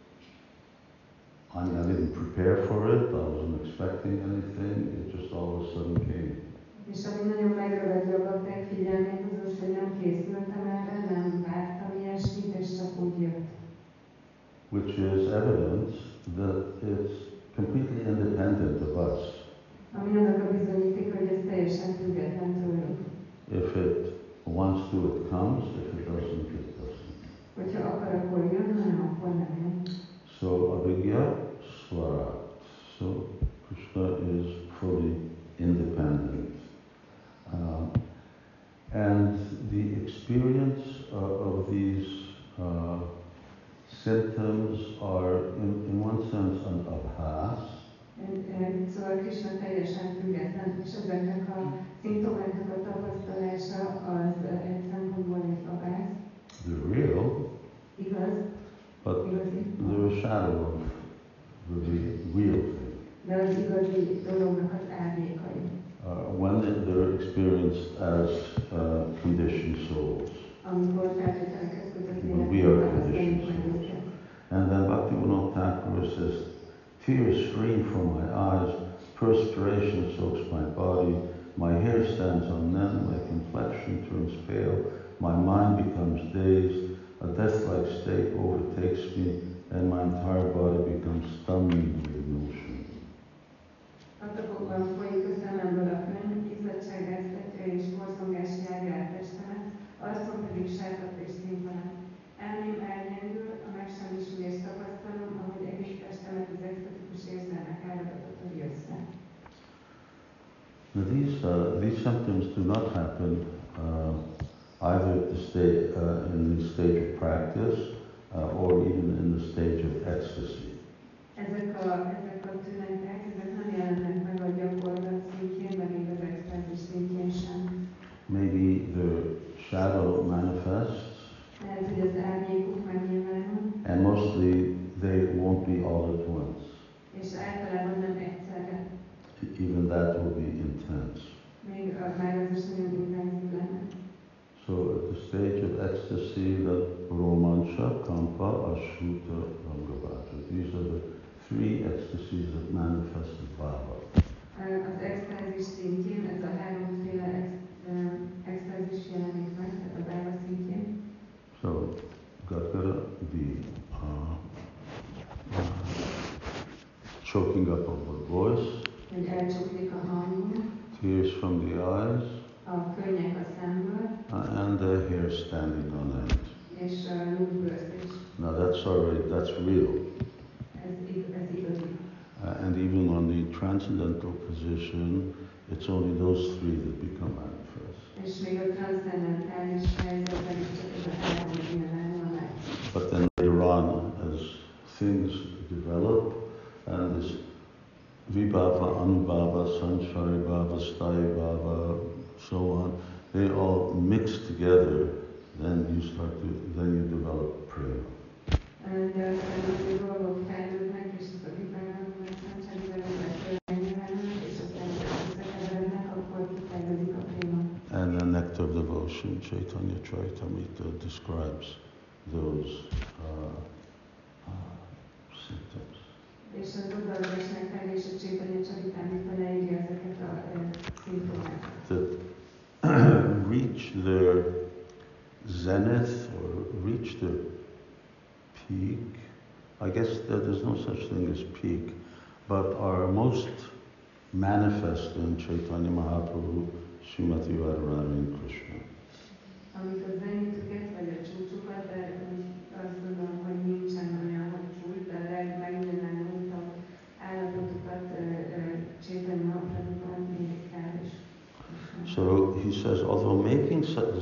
I didn't prepare for it, I wasn't expecting anything, it just all of a sudden came. És ami nagyon megragadja a bakták figyelmét, az az, hogy nem készültem erre, nem vártam ilyesmit, és csak úgy jött. Which is evidence that it's completely independent of us. Ami annak a bizonyíték, hogy ez teljesen független tőlünk. If it wants to, it comes, if it doesn't, it doesn't. Hogyha akar, akkor jön, hanem akkor nem jön. So Avigya Swarat. So Krishna is fully independent. And the experience of these symptoms are, in one sense, an abhas. Szóval Krishna teljesen független, és ezeknek a szimptomáknak a tapasztalása az egy szempontból egy abház. They're real, igaz, but they're a shadow of the real thing. De az igazi dolognak az árnyékai. When they're experienced as conditioned souls. When we are conditioned souls. And then Bhaktivinoda Thakur says, tears stream from my eyes, perspiration soaks my body, my hair stands on end, my complexion turns pale, my mind becomes dazed, a death-like state overtakes me, and my entire body becomes stunned with emotion. Patakokban folyik a szememből a könny, izzadságáztatja és borzongás járja át testemet, arcom pedig sápadt és színtalan. Elmém elgyengül, a megsemmisülést tapasztalom, ahogy egész testemet az extatikus érzelmek áradatot össze. Now these symptoms do not happen either at the stage, in the stage of practice or even in the stage of ecstasy. Ezek a tünetek, ezek nem jelennek meg a gyakorlat szintjén, meg még az extázis szintjén sem. Maybe the shadow manifests, lehet, hogy az árnyékuk megnyilvánul, and mostly they won't be all at once. És általában nem egyszerre. Even that will be intense. Még már az is nagyon intenzív lenne. So at the stage of ecstasy, the romancha, kampa, ashuta, rangavata. These are the three ecstasies that manifested Baba. Az extázis szintjén, ez a háromféle extázis jelenik meg, tehát a Bába szintjén. So, Gadgara, the choking up of the voice, Hogy elcsuklik a hangunk, tears from the eyes, a könnyek a szemből, and the hair standing on end. és nyúlbőrzés. Now that's real. Ez igazi. And even on the transcendental position, it's only those three that become manifest. És még a transzcendentális helyzetben is csak ez a három nyilvánul meg. But then later on, as things develop, and this Vibhava, Anubhava, Sanchari Bhava, Sthayi Bhava, so on, they all mix together, then you develop prema. De aztán az dolgok fejlődnek, és ez a Vibhava, a Sanchari Bhava, és aztán összekeverednek, akkor kifejlődik a préma. And the nectar of devotion, Chaitanya Charitamrita describes those symptoms. És az udvarolás nektar és a Chaitanya Charitamrita leírja ezeket a szimptomákat. That reach their zenith or reach their peak. I guess that there's no such thing as peak, but are most manifest in Chaitanya Mahaprabhu, Srimati Radharani and Krishna. Amik a zenitüket vagy a csúcsukat, de azt gondolom, hogy nincsen olyan, hogy csúcs, de a legmegnyilvánultabb állapotokat Chaitanya Mahaprabhuban érik el is. So he says, although making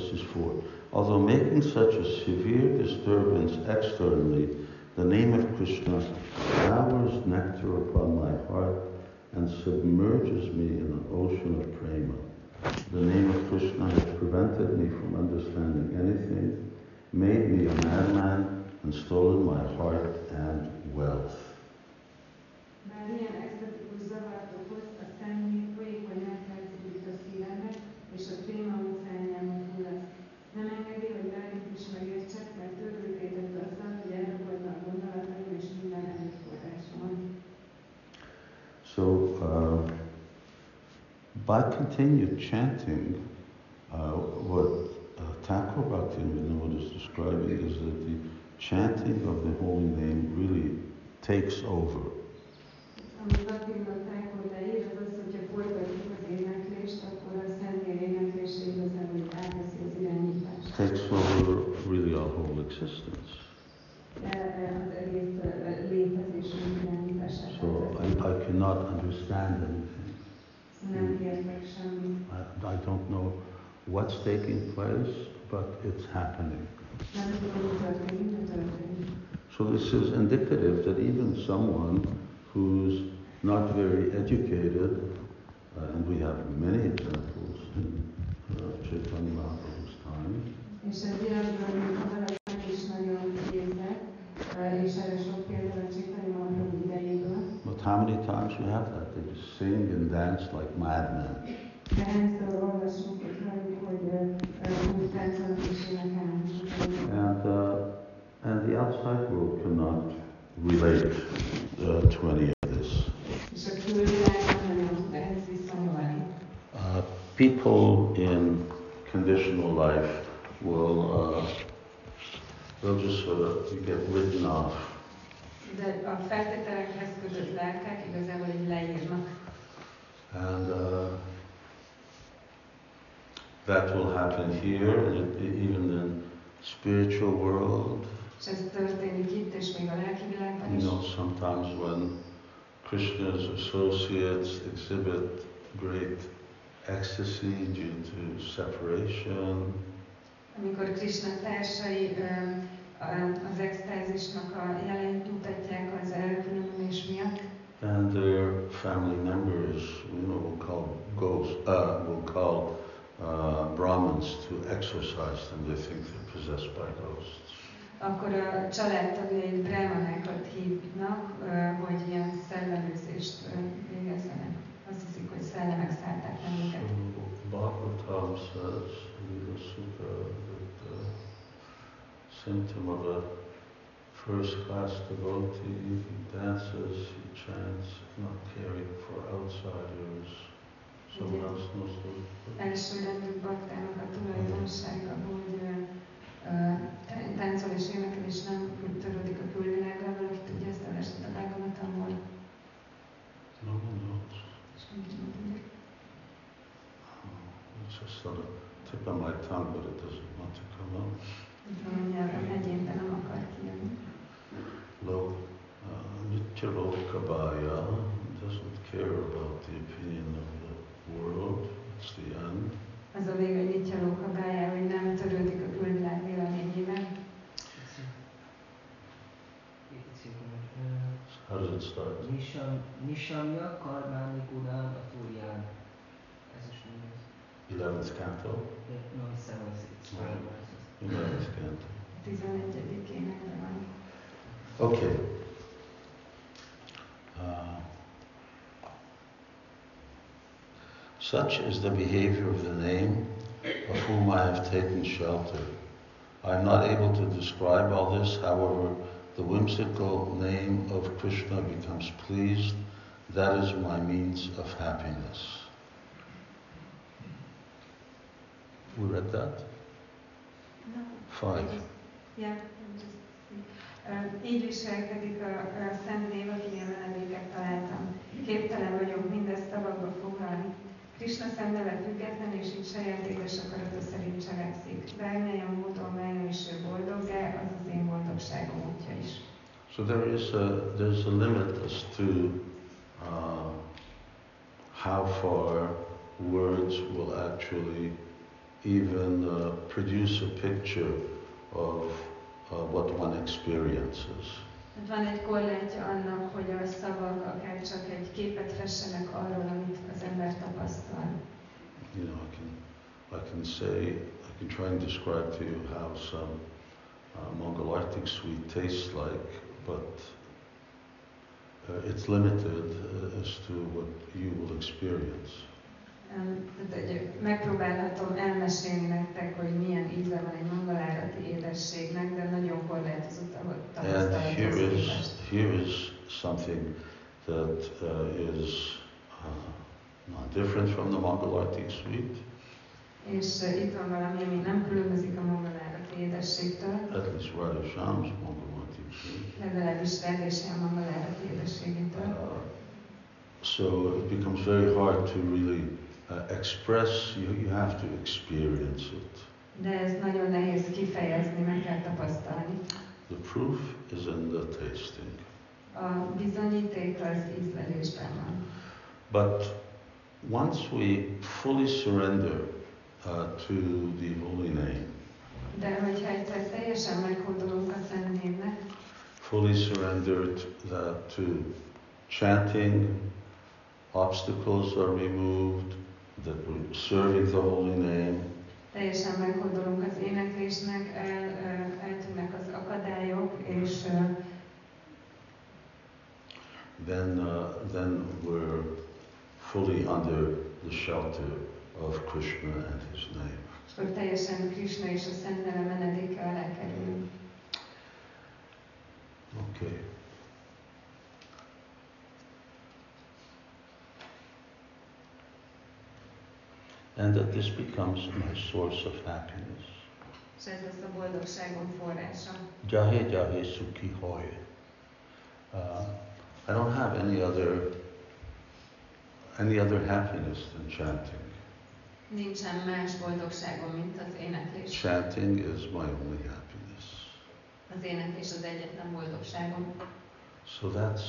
such a severe disturbance externally, the name of Krishna showers nectar upon my heart and submerges me in an ocean of prema. The name of Krishna has prevented me from understanding anything, made me a madman, and stolen my heart and wealth. Bár ilyen extatikus zavart okoz, a személy folyékony elfelszívít a szívembe, és a préma óceánjába fullaszt. Nem engedi, hogy bármit is megértsek, mert őrültétett azzal, hogy elrabolta a gondolataim és minden erőforrásomat. So, by continued chanting, what Thakur Bhaktivinoda is describing is that the chanting of the holy name really takes over. Amit Bhaktivinoda Thakur leír, az az, hogyha folytatjuk az éneklést, akkor a Szentnél éneklése igazából átveszi az irányítást. Takes over really our whole existence. Az egész létezésünk irányítását. So I cannot understand anything. Nem értek semmit. I don't know what's taking place, but it's happening. Nem tudom, mi történik, de történik. So this is indicative that even someone who's not very educated, and we have many examples in Chaitanya Mahaprabhu's time, És ez illetve, hogy ha valaki nem is nagyon képzett, és erre sok példa a Chaitanya Mahaprabhu idejéből. but how many times we have that? They just sing and dance like madmen. De hányszor olvasunk itt rajtuk, hogy úgy táncolnak és énekelnek. And the outside world cannot relate to any of this. És a külvilág nem nagyon tud ehhez viszonyulni. People in conditional life they'll just sort of get written off. De a feltételekhez kötött lelkek igazából így leírnak. And that will happen here, and even in spiritual world. És ez történik itt, és még a lelki világban You is. know, sometimes when Krishna's associates exhibit great ecstasy due to separation, Amikor Krishna társai az extázisnak a jeleit mutatják az elkülönülés miatt, and their family members, will call Brahmins to exorcise them. They think they're possessed by ghosts. akkor a családtagjai brahmanákat hívnak, hogy ilyen szellemőzést végezzenek. Azt hiszik, hogy szellemek szállták meg őket. So Bhagavatam says, Lila Sutta, that the symptom of a first class devotee, he dances, he chants, not caring for outsiders. Someone else knows those. Elsőrendű baktának a tulajdonsága, hogy táncol és énekel, és nem törődik a külvilággal, valaki tudja ezt esetleg a Bhagavatamból. No one knows. És senki nem tudja. It's just on the tip of my tongue, but it doesn't want to come out. Itt van a nyelven, egyébben nem akar kijönni. Nitya Lokabaya doesn't care about the opinion of the world. It's the end. Az a vége, hogy Nitya Lokabaya, hogy nem törődik a külvilág véleményében. How does it start? Nishamya Karmani Gunam Aturyan. Ez is mi ez? 11th canto? No, it's 7, 5 verses. 11th canto. 11. énekben van. Okay. Such is the behavior of the name of whom I have taken shelter. I am not able to describe all this, however, the whimsical name of Krishna becomes pleased. That is my means of happiness. We read that? No. 5. Yeah, így viselkedik a szent név, akilyen menedéket találtam. Képtelen vagyok mindezt szavakba foglalni. Krishna szemneve független, és így saját édes akarata szerint cselekszik. Bármilyen módon válna is ő boldoggá, az az én boldogságom útja is. So there's a limit as to how far words will actually even produce a picture of what one experiences. Van egy korlátja annak, hogy a szavak akár csak egy képet fessenek arról, amit az ember tapasztal. You know, I can try and describe to you how some Mangalartik sweet tastes like, but it's limited as to what you will experience. Megpróbálhatom elmesélni nektek, hogy milyen íze van egy mangalárati édességnek, de nagyon korlátozott a tapasztalathoz. Here is something that is not different from the Mangalartik sweet. És itt van valami, ami nem különbözik a mangalárati édességtől. At least Radha Shyam's Mangalartik sweet. Legalábbis Radha Shyam mangalárati édességétől. So it becomes very hard to really express, you have to experience it. De ez nagyon nehéz kifejezni, meg kell tapasztalni. The proof is in the tasting. A bizonyíték az ízlelésben van. But once we fully surrender to the holy name, de hogyha egyszer teljesen meghódolunk a Szent Névnek, fully surrendered to chanting, obstacles are removed, that we're serving the holy name. Teljesen meghódolunk az éneklésnek, eltűnnek az akadályok, és then we're fully under the shelter of Krishna and his name. És akkor teljesen Krishna és a Szent Neve menedéke alá kerülünk. Okay. And that this becomes my source of happiness. És ez lesz a boldogságom forrása. Jahe jahe sukhi hoy. I don't have any other happiness than chanting. Nincsen más boldogságom, mint az éneklés. Chanting is my only happiness. Az éneklés az egyetlen boldogságom. So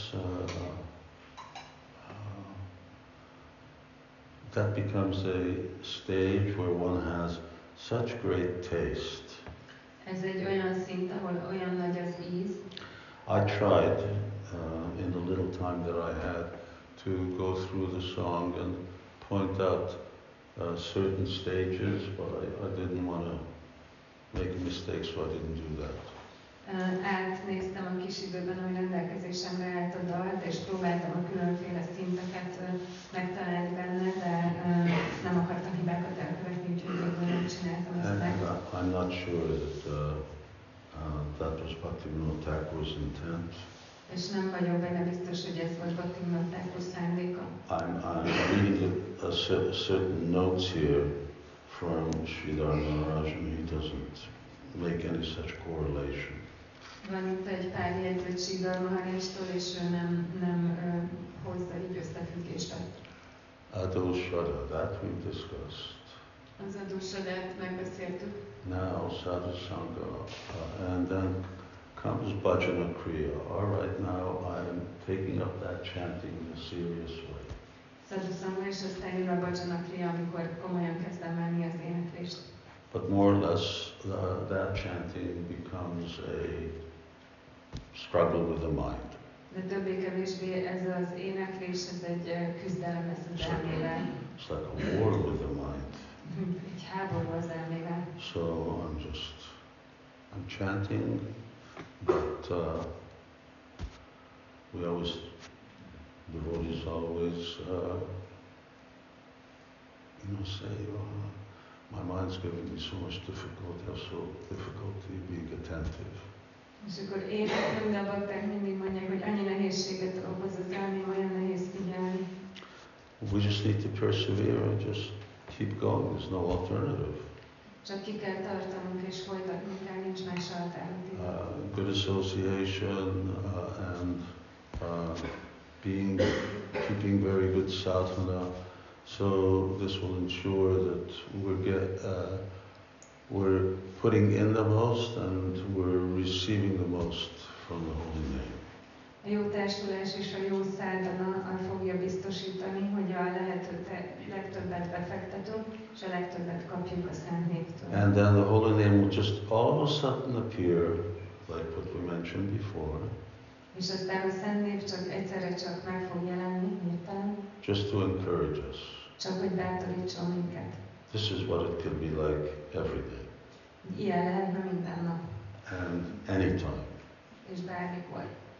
that becomes a stage where one has such great taste. Ez egy olyan szint, ahol olyan nagy az íz. I tried in the little time that I had to go through the song and point out certain stages, but I didn't want to make a mistake, so I didn't do that. Átnéztem a kis időben, ami rendelkezésemre állt a dalt, és próbáltam a különféle szinteket megtalálni benne, de nem akartam hibákat elkövetni, úgyhogy végül nem csináltam ezt meg. I'm not sure that That was Bhaktivinoda Thakur's intent. És nem vagyok benne biztos, hogy ez volt Bhaktivinoda Thakur szándéka. I'm reading a certain notes here from Sridhar Maharaj, and he doesn't make any such correlation. Van itt egy pár jegyzet Sridhar Maharajtól, és ő nem hozza így összefüggést. Adoshada, that we've discussed. Az adósodát megbeszéltük. Now Sadhu Sangha, and then comes Bhajana Kriya. All right, now I'm taking up that chanting in a serious way. Sadhu és aztán jön a Bhajana Kriya, amikor komolyan kezdem venni az éneklést. But more or less, that chanting becomes a struggle with the mind. De többé-kevésbé ez az éneklés, ez egy küzdelem lesz az elmével. It's like a war with the mind. Egy háború az elmével. So I'm chanting, but we always, devotees always, say, my mind's giving me so much difficulty, I have so difficulty being attentive. És akkor éneklünk, de a bakták mindig mondják, hogy annyi nehézséget okoz az elmém, olyan nehéz figyelni. We just need to persevere and just keep going. There's no alternative. Csak ki kell tartanunk és folytatnunk kell, nincs más alternatíva. Good association and keeping very good sadhana. So this will ensure that we're putting in the most and we're receiving the most from the holy name. A jó társulás és a jó szádana fogja biztosítani, hogy a lehető legtöbbet befektetünk, és a legtöbbet kapjuk a Szent Névtől. And then the holy name will just all of a sudden appear, like what we mentioned before. És aztán a Szent Név csak egyszerre csak meg fog jelenni, hirtelen. Just to encourage us. Csak hogy bátorítson minket. This is what it can be like every day. Ilyen lehetne minden nap. And anytime. És bármikor.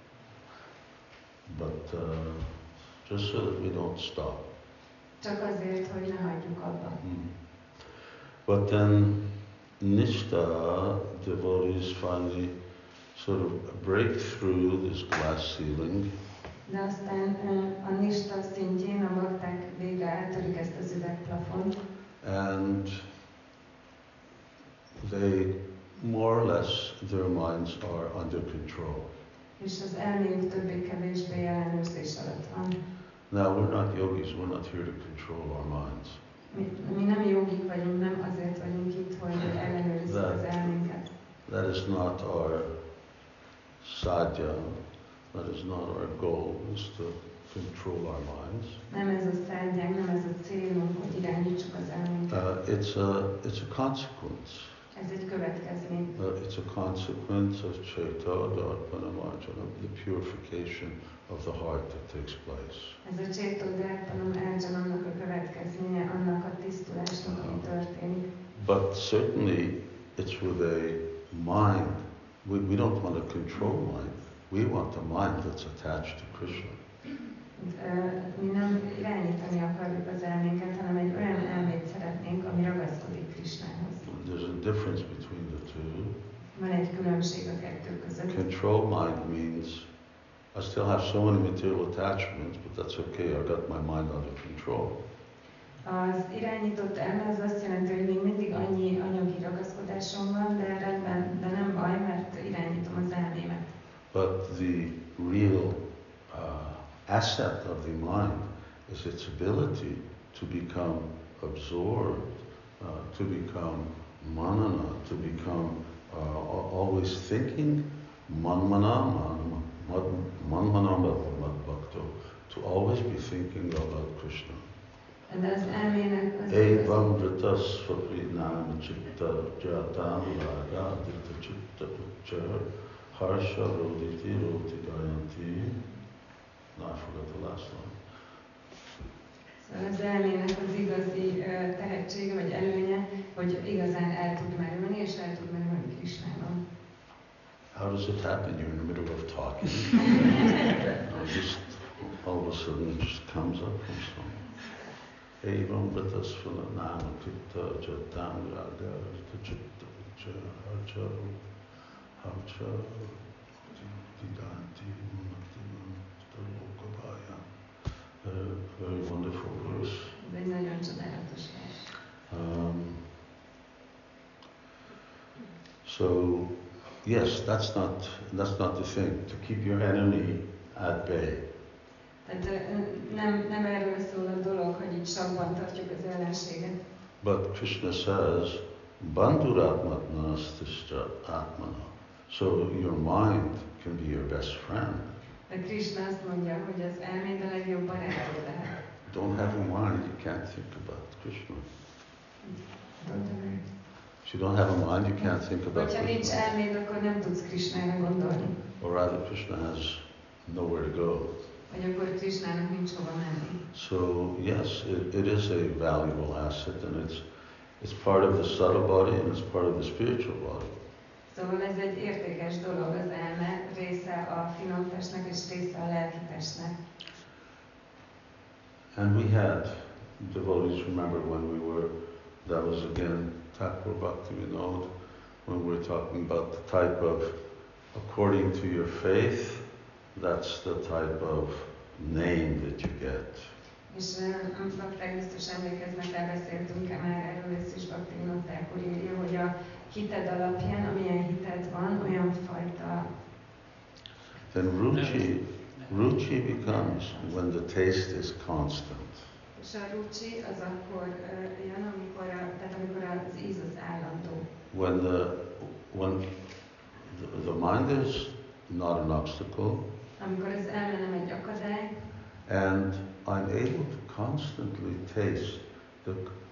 But just so that we don't stop. Csak azért, hogy ne hagyjuk abba. But then Nishta devotees finally sort of break through this glass ceiling. De aztán a Nishta szintjén a bakták végre átörik ezt az üvegplafont. And they more or less, their minds are under control. És az elméjük többé-kevésbé ellenőrzés alatt van. Now we're not yogis, we're not here to control our minds. Mi nem jogik vagyunk, nem azért vagyunk itt, hogy ellenőrizzük az elménket. That is not our sadhya, that is not our goal, is to control our minds. Nem ez a szádják, nem ez a célunk, hogy irányítsuk az elménket. It's a consequence. Ez egy következmény. It's a consequence of Chaita, Darpana, Marjana, the purification of the heart that takes place. Ez a Chaita, Darpana, Marjana-nak a következménye, annak a tisztulásnak, ami történik. But certainly it's with a mind. We don't want to control mind. We want a mind that's attached to Krishna. Mi nem irányítani akarjuk az elménket, hanem egy olyan elmét szeretnénk, ami ragaszkodik Krishnához. There's a difference between the two. Van egy különbség a kettő között. Control mind means I still have so many material attachments, but that's okay, I got my mind under control. Az irányított elme az azt jelenti, hogy még mindig annyi anyagi ragaszkodásom van, de rendben, de nem baj, mert irányítom az elmémet. But the real asset of the mind is its ability to become absorbed, to become manana, to become always thinking, manmana, bhakto, to always be thinking about Krishna. De az elmének az Evam vritas svaprinam chitta jatam raga ditta chitta uchar harsha roditi roti gayanti. No, I forgot the last one. Szóval az elmének az igazi tehetsége vagy előnye, hogy igazán el tud merülni, és el tud merülni Krishnában. How does it happen? You're in the middle of talking. Just all of a sudden it just comes up from somewhere. Evam vritasfala nama chitta jatam raga chitta harcha Avcha Diganti Lokabaya. Very wonderful verse. Ez egy nagyon csodálatos vers. So, yes, that's not the thing. To keep your enemy at bay. Tehát nem erről szól a dolog, hogy így sakban tartjuk az ellenséget. But Krishna says, Bandhuratmatnastischa atmana. So your mind can be your best friend. De Krishna azt mondja, hogy az elméd a legjobb barátod lehet. Don't have a mind, you can't think about Krishna. If you don't have a mind, you can't think about Hogyha nincs Krishna. elméd, akkor nem tudsz Krishnára gondolni. Or rather, Krishna has nowhere to go. Vagy akkor Krishnának nincs hova menni. So yes, it is a valuable asset, and it's part of the subtle body and it's part of the spiritual body. Szóval ez egy értékes dolog, az elme része a finom testnek és része a lelki testnek. And we had devotees, remember when that was again Thakur Bhaktivinoda, when we were talking about the type of, according to your faith, that's the type of name that you get. És bakták biztos emlékeznek, elbeszéltünk már erről, ezt is Bhaktivinoda Thakur írja, hogy a hited alapján, amilyen hited van, olyan fajta. Then ruchi becomes when the taste is constant. És a ruchi az akkor jön, amikor az íz az állandó. When the mind is not an obstacle, amikor az elme nem egy akadály, and I'm able to constantly taste the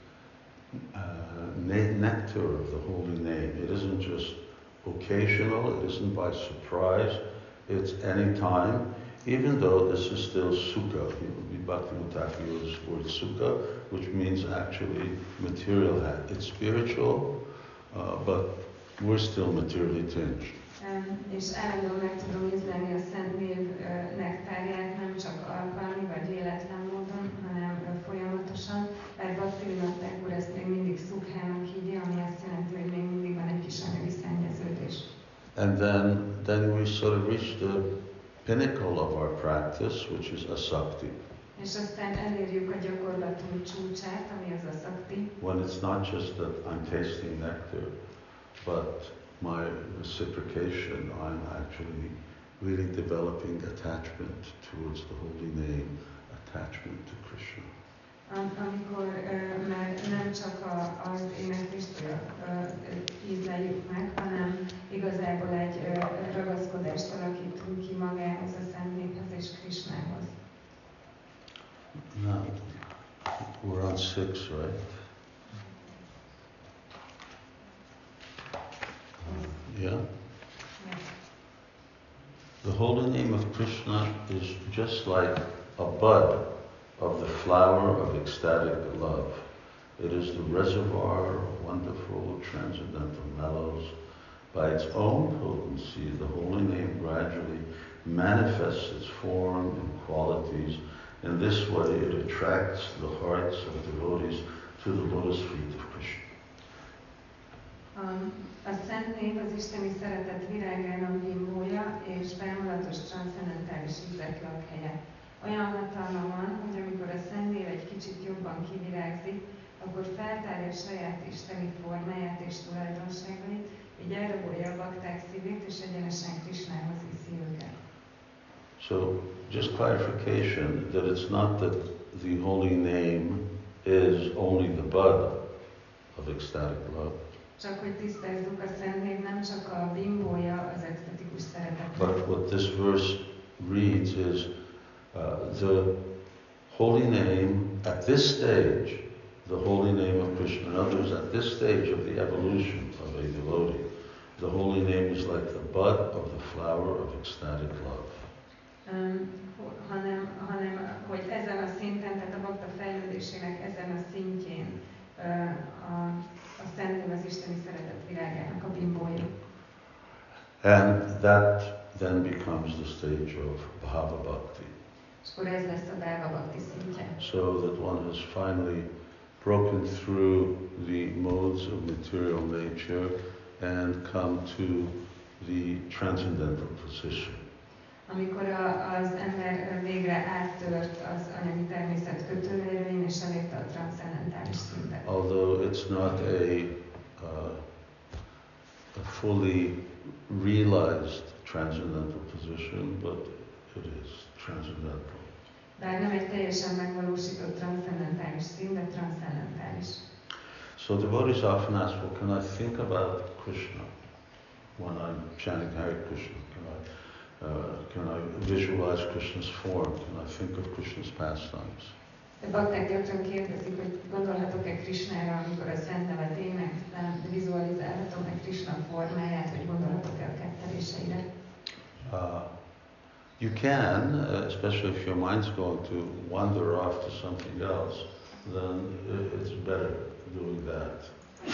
nectar of the holy name. It isn't just occasional, it isn't by surprise, it's any time, even though this is still sukha. Bhaktivinoda Thakur uses the word sukha, which means actually material. It's spiritual, but we're still materially tinged. És állandóan meg tudom ízlelni a Szent Név nektárját, nem csak alkalmi vagy véletlen módon, hanem folyamatosan, mert Bhaktivinoda Thakur ezt még mindig szukhának hívja, ami azt jelenti, hogy még mindig van egy kis anyagi szennyeződés. And then we sort of reach the pinnacle of our practice, which is asakti. És aztán elérjük a gyakorlatunk csúcsát, ami az asakti. When it's not just that I'm tasting nectar, but my reciprocation, I'm actually really developing attachment towards the holy name, attachment to Krishna. Amikor már nem csak az éneklést ízleljük meg, hanem igazából egy ragaszkodást alakítunk ki magához, a Szent Néphez és Krishnához. Now, we're on 6, right? Yeah? The holy name of Krishna is just like a bud of the flower of ecstatic love. It is the reservoir of wonderful transcendental mellows. By its own potency, the holy name gradually manifests its form and qualities. In this way, it attracts the hearts of devotees to the lotus feet of Krishna. A Szent Név az isteni szeretet virágának bimbója és bámulatos transzcendentális ízek lakhelye. Olyan hatalma van, hogy amikor a Szent Név egy kicsit jobban kivirágzik, akkor feltárja saját isteni formáját és tulajdonságait, így elrabolja a bakták szívét és egyenesen Krishnához viszi őket. So, just clarification that it's not that the holy name is only the bud of ecstatic love. Csak hogy tisztázzuk, a Szent Név nem csak a bimbója az extatikus szeretetnek. But what this verse reads is the holy name at this stage, the holy name of Krishna. In other words, at this stage of the evolution of a devotee, the holy name is like the bud of the flower of ecstatic love. hanem hogy ezen a szinten, tehát a bakta fejlődésének ezen a szintjén a Szent Név az isteni szeretet virágának a bimbója. And that then becomes the stage of Bhava Bhakti. És akkor ez lesz a Bhava Bhakti szintje. So that one has finally broken through the modes of material nature and come to the transcendental position. Amikor az ember végre áttört az anyagi természet kötőérvén és elérte a transzcendentális szintet. Although it's not a fully realized transcendental position, but it is transcendental. Bár nem egy teljesen megvalósított transzcendentális szint, de transzcendentális. So devotees often ask, well, can I think about Krishna when I'm chanting Hare Krishna? Can I visualize Krishna's form? Can I think of Krishna's pastimes? De bakták gyakran kérdezik, hogy gondolhatok-e Krishnára, amikor a Szent Nevet éneklem, vizualizálhatom-e Krishna formáját, vagy gondolhatok-e a ketteléseire? You can, especially if your mind's going to wander off to something else, then it's better doing that.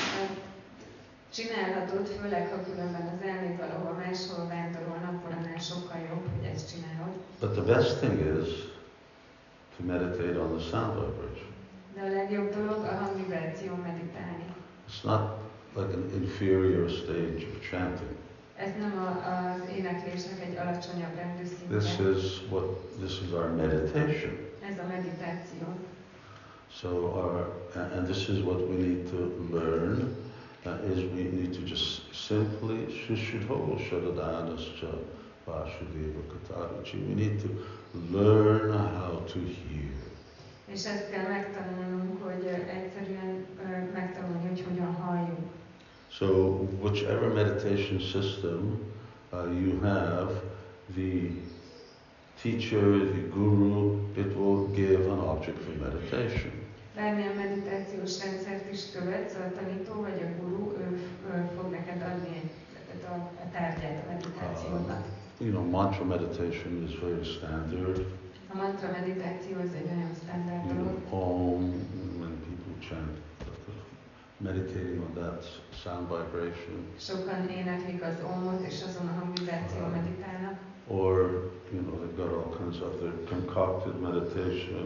Csinálhatod, főleg ha különben az elméd valahol máshol vándorolna, akkor annál sokkal jobb, hogy ezt csinálod. But the best thing is to meditate on the sound vibration. De a legjobb dolog a hangvibráció meditálni. It's not like an inferior stage of chanting. Ez nem az éneklésnek egy alacsonyabb rendű szintje. This is our meditation. Ez a meditáció. So and this is what we need to learn. Is we need to just simply Shishudho Shadadanascha Vasudeva Kataruchi. We need to learn how to hear. És ezt kell megtanulnunk, hogy egyszerűen megtanulni, hogy hogyan halljunk. So whichever meditation system you have, the teacher, the guru, it will give an object for meditation. Bármilyen meditációs rendszert is követsz, a tanító vagy a guru, ő fog neked adni a tárgyát a meditációnak. Mantra meditation is very standard. A mantra meditáció az egy nagyon standard dolog. Om, when people chant, meditating on that sound vibration. Sokan éneklik az omot, és azon a hangvibráció meditálnak. Or, they've got all kinds of other concocted meditation.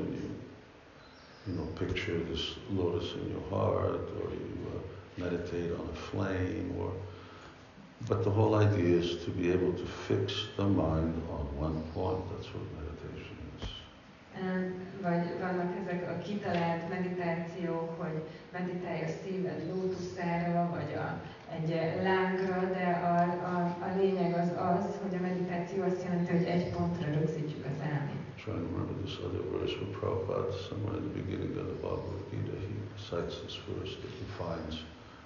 Picture this lotus in your heart, or you meditate on a flame, but the whole idea is to be able to fix the mind on one point. That's what meditation is. Vagy vannak ezek a kitalált meditációk, hogy meditálj a szíved lótuszára, vagy egy lángra, de a lényeg az, hogy a meditáció azt jelenti, hogy egy pontra rögzítjük az elmét. Trying to remember this other verse from Prabhupada, somewhere in the beginning of the Bhagavad Gita, he cites this verse that defines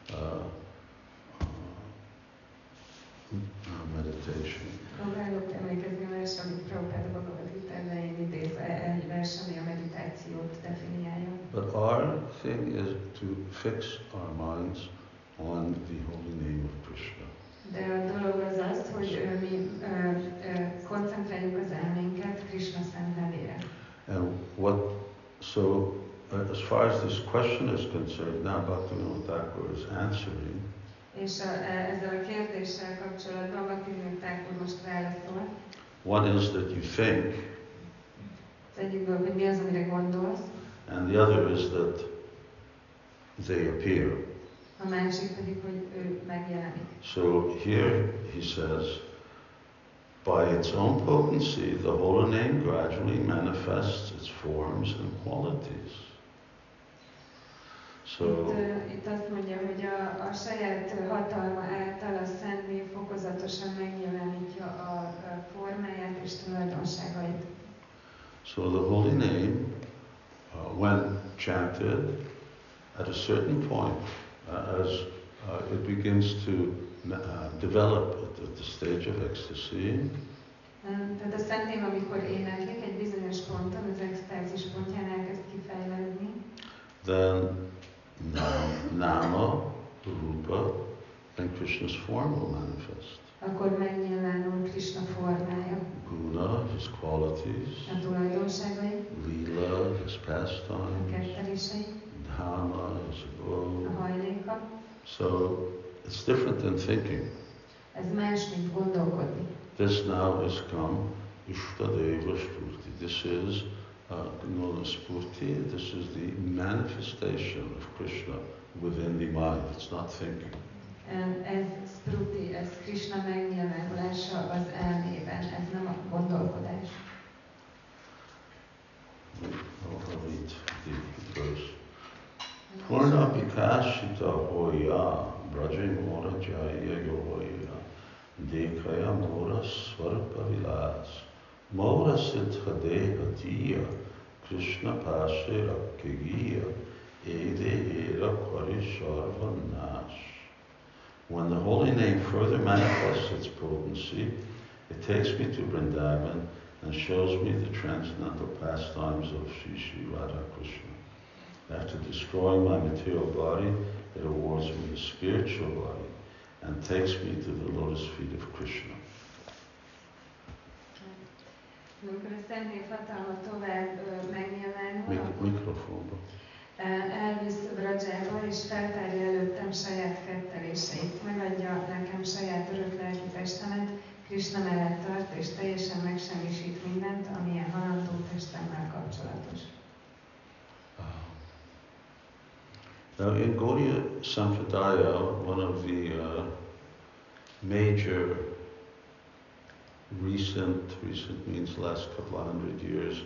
meditation. Próbálok emlékezni a versre, amit Prabhupada Bhagavad Gita elején idéz, egy vers, ami a meditációt definiálja. But our thing is to fix our minds on the holy name of Krishna. De a dolog az, hogy mi koncentráljuk az elménket Krishna szent nevére. And as far as this question is concerned, now Bhaktivinoda Thakur is answering. És ezzel a kérdéssel kapcsolatban Bhaktivinoda Thakur most válaszol. One is that you think. Az egyik dolog, hogy mi az, amire gondolsz. And the other is that they appear. A másik pedig, hogy ő megjelenik. So here he says, by its own potency, the holy name gradually manifests its forms and qualities. So itt azt mondja, hogy a saját hatalma által a Szent Név fokozatosan megjelenítja a formáját és tulajdonságait. So the holy name, when chanted, at a certain point, as it begins to develop at the stage of ecstasy, tehát a Szent Név, amikor éneklik, egy bizonyos ponton, az extázis pontján elkezd kifejlődni. Then Nama, Rupa, and Krishna's form will manifest. Akkor megnyilvánul Krishna formája. Guna, his qualities. A tulajdonságai. Lila, his A pastimes. kettelései. Dhamma, his abode. A hajléka. So it's different than thinking. Ez más, mint gondolkodni. This now has come Ishtadeva Spurti. This is Spurti. This is the manifestation of Krishna within the mind. It's not thinking. Ez Spruti, ez Krishna megnyilvánulása az elmében, ez nem a gondolkodás. I'll read the verse. Purna Vikashita Hoya Braja Mora Jaya Yoya Dekhaya Mora Svarpa Vilas Mora Siddha Deha Tiya Krishna Pashe Rakkagiya Ede Era Parisharva Nash. When the holy name further manifests its potency, it takes me to Vrindavan and shows me the transcendental pastimes of Shri Radha Krishna. After destroying my material body, it awards me a spiritual body and takes me to the lotus feet of Krishna. Amikor a Szentnév hatalma tovább megnyilvánul, Mikrofonba. elvisz Brajába és feltárja előttem saját ketteléseit, megadja nekem saját örök lelki testemet, Krishna mellett tart és teljesen megsemmisít mindent, amilyen halandó testemmel kapcsolatos. Now in Gaudiya Sampradaya, one of the major recent means last couple of 100 years,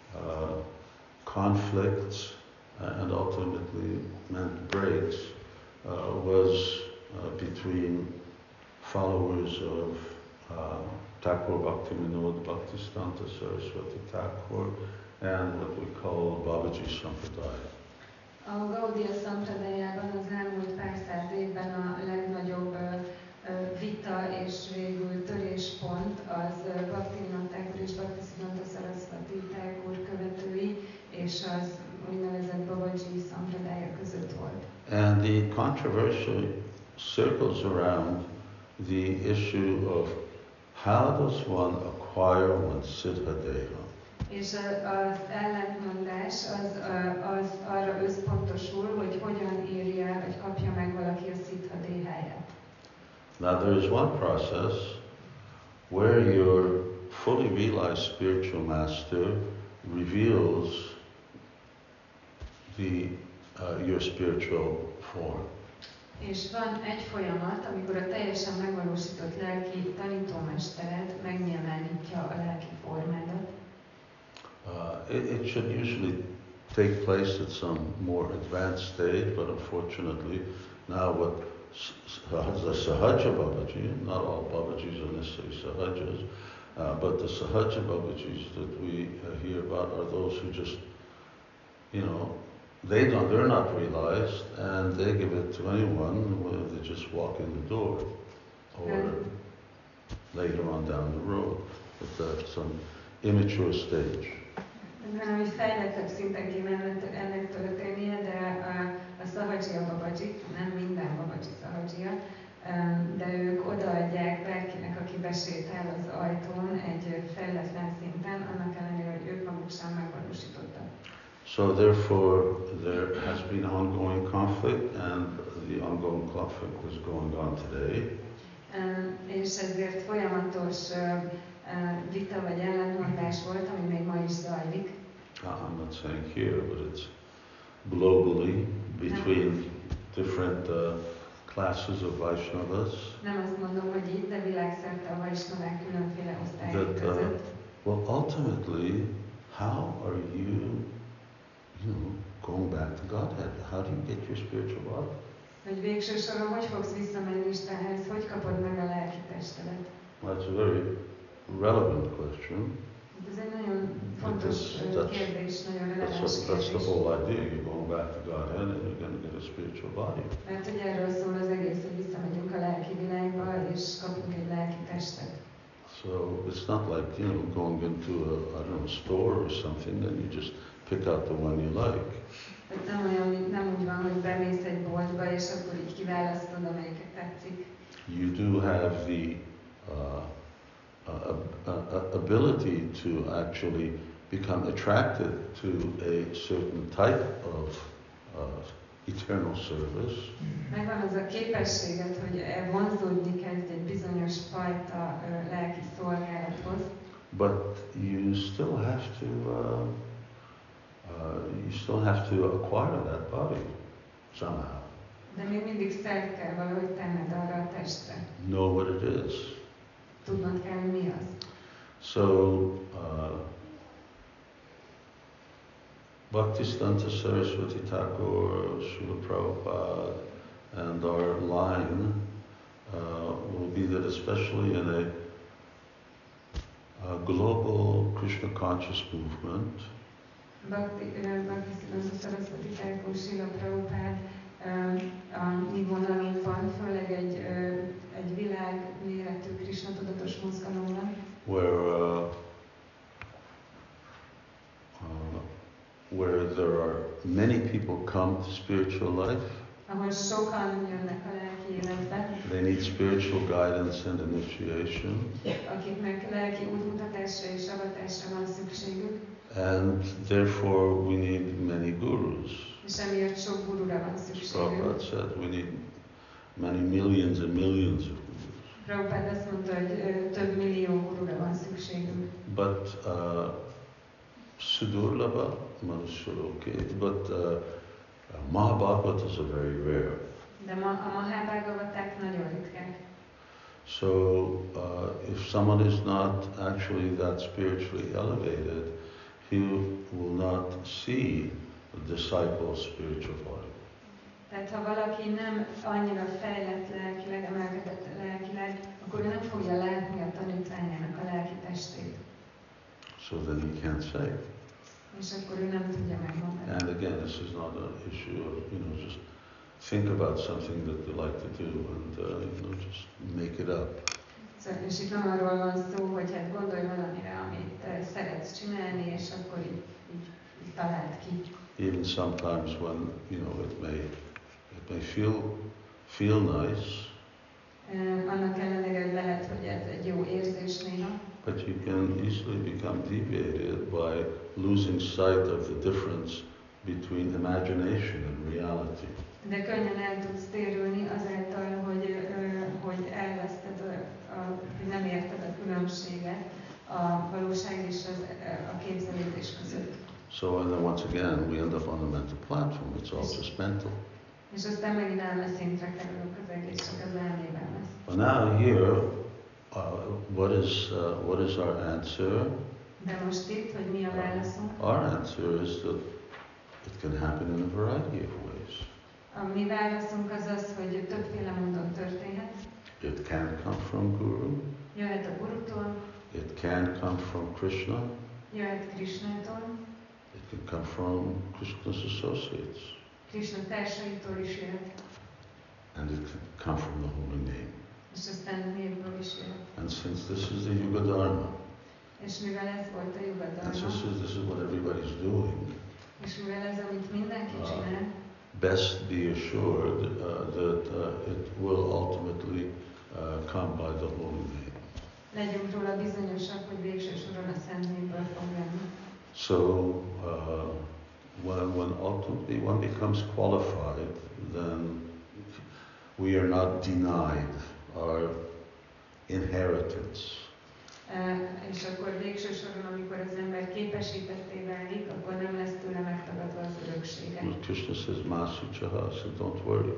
conflicts and ultimately meant breaks was between followers of Thakur Bhaktivinoda Bhaktisiddhanta Saraswati Thakur and what we call Babaji Sampradaya. A Gaudiya Sampradayában az elmúlt pár száz évben a legnagyobb vita és végül töréspont az Bhaktivinoda Thakur és Bhaktisiddhanta Saraswati Thakur követői és az úgynevezett Babaji Sampradaya között volt. And the controversy circles around the issue of how does one acquire one's siddha deha? És az ellentmondás az arra összpontosul, hogy hogyan érje el, vagy kapja meg valaki a siddha déháját. Now there is one process where your fully realized spiritual master reveals your spiritual form. És van egy folyamat, amikor a teljesen megvalósított lelki tanítómestered megnyilvánítja a lelki formádat. It should usually take place at some more advanced stage, but unfortunately now what the Sahaja Babaji, not all Babajis are necessarily Sahajas, but the Sahaja Babajis that we hear about are those who just, they're not realized and they give it to anyone when they just walk in the door or later on down the road at some immature stage. Hanem, hogy fejlettebb szinten kéne ennek történnie, de a Sahaja Babajik, nem minden Babaji Sahaja, de ők odaadják bárkinek, aki besétál az ajtón egy fejletlen szinten, annak ellenére, hogy ők maguk sem megvalósítottak. So therefore there has been ongoing conflict and the ongoing conflict is going on today. És ezért folyamatos vita vagy ellentmondás volt, ami még ma is zajlik. I'm not saying here, but it's globally between different classes of Vaishnavas. Nem azt mondom, hogy itt, de világszerte a Vaishnavák különféle osztályok között. Well, ultimately, how are you, going back to Godhead? How do you get your spiritual body? Hogy végső soron hogy fogsz visszamenni Istenhez, hogy kapod meg a lelki testedet? Well, that's a very relevant question. Ez egy nagyon fontos kérdés, nagyon releváns kérdés. That's the whole idea. You're going back to Godhead and you're going to get a spiritual body. Mert hogy erről szól az egész, hogy visszamegyünk a lelki világba, és kapunk egy lelki testet. So it's not like, going into a store or something and you just pick out the one you like. Nem úgy van, hogy bemész egy boltba, és akkor így kiválasztod, amelyiket tetszik. You do have the ability to actually become attracted to a certain type of eternal service. Megvan az a képességed, hogy vonzódni kezdj egy bizonyos fajta lelki szolgálathoz. But you still have to acquire that body somehow. De még mindig szert kell valahogy tenned arra a testre. Know what it is. Tudnod kell, hogy mi az. So, Bhaktisiddhanta Saraswati Thakur, Srila Prabhupada, and our line will be that especially in a global Krishna conscious movement, Bhaktisiddhanta Saraswati Thakur, Srila Prabhupada a mi vonalunkban, főleg egy világ méretű Krishna tudatos mozgalomban, where there are many people come to spiritual life. Ahol sokan jönnek a lelki életbe, they need spiritual guidance and initiation. Akiknek lelki útmutatásra és avatásra van szükségük. And therefore we need many gurus. És emiatt sok gurura van szükségük. Prabhupada said we need many millions and millions of gurus. Prabhupada azt mondta, hogy több millió gurura van szükségünk. But Sudurlabha, okay, but Mahabhagavatas are very rare. De a Mahabhagavaták nagyon ritkák. So if someone is not actually that spiritually elevated, he will not see the disciple's spiritual body. Tehát ha valaki nem annyira fejlett lelkileg, emelkedett lelkileg, akkor ő nem fogja látni a tanítványának a lelki testét. So then he can't say. És akkor ő nem tudja megmondani. And again, this is not an issue of, just think about something that you like to do and, just make it up. Szóval, és itt nem arról van szó, hogy hát gondolj valamire, amit szeretsz csinálni, és akkor így találd ki. Even sometimes when, it may feel nice. Annak ellenére, hogy lehet, hogy ez egy jó érzés néha. But you can easily become deviated by losing sight of the difference between imagination and reality. De könnyen el tudsz térülni azáltal, hogy elveszted, hogy nem érted a különbséget a valóság és a képzelődés között. So and then once again we end up on the mental platform. It's all just mental. És aztán megint elmeszintre kerülünk, az egész csak az elmében lesz. But now here, what is our answer? De most itt, hogy mi a válaszunk? Our answer is that it can happen in a variety of ways. A mi válaszunk az az, hogy többféle módon történhet. It can come from Guru. Jöhet a Gurutól. It can come from Krishna. Jöhet Krishnától. It can come from Krishna's associates. Krishna társaitól is jöhet. And it can come from the holy name. És aztán névből is jöhet. And since this is the Yuga Dharma, és mivel ez volt a Yuga Dharma, and this is what everybody's doing, és mivel ez, amit mindenki csinál, best be assured that it will ultimately come by the holy name. Legyünk róla bizonyosak, hogy végső soron a Szent Névből fog jönni. So when ultimately one becomes qualified, then we are not denied our inheritance. És akkor végső soron, amikor az ember képesítetté válik, akkor nem lesz tőle megtagadva az öröksége. Krishna says, Masuchaha, so don't worry.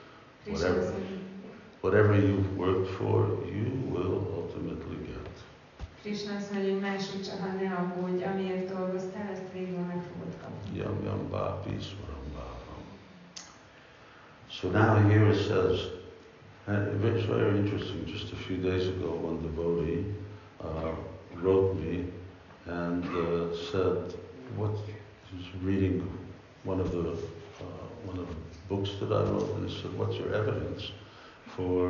Whatever you've worked for, you will ultimately get. Krishna azt mondja, hogy Masuchaha, ne aggódj, amiért dolgoztál, ezt végül meg fogod kapni. Yam yam bhapi swaram bhavam. So now here it says, and it's very interesting, just a few days ago one devotee wrote me and said, he was reading one of the books that I wrote, and he said, what's your evidence for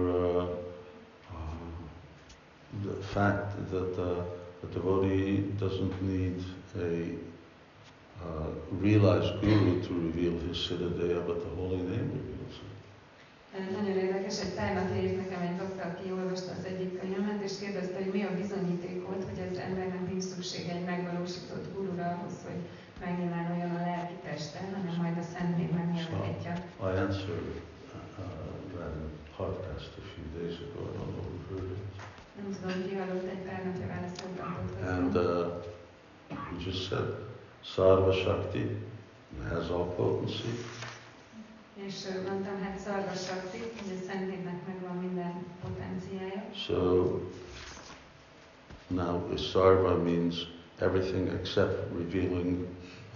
the fact that the devotee doesn't need a realized guru to reveal his Siddhadeha, but the holy name reveals it. Nagyon érdekes, egy tájmat írt nekem egy bakta, aki olvasta az egyik könyvemet, és kérdezte, hogy mi a bizonyíték volt, hogy az embernek nincs szükség egy megvalósított gurura ahhoz, hogy megnyilvánuljon a lelki testen, hanem majd a Szent Név megnyilvánítja. I answered that in a podcast a few days ago. I don't know who heard it. Nem tudom, ki hallott, egy pár napja válaszoltam podcaston. And we just said, Sarva Shakti has all potency. És mondtam, hát Szarva Sakti, hogy a Szentélnek megvan minden potenciája. So now Sarva means everything except revealing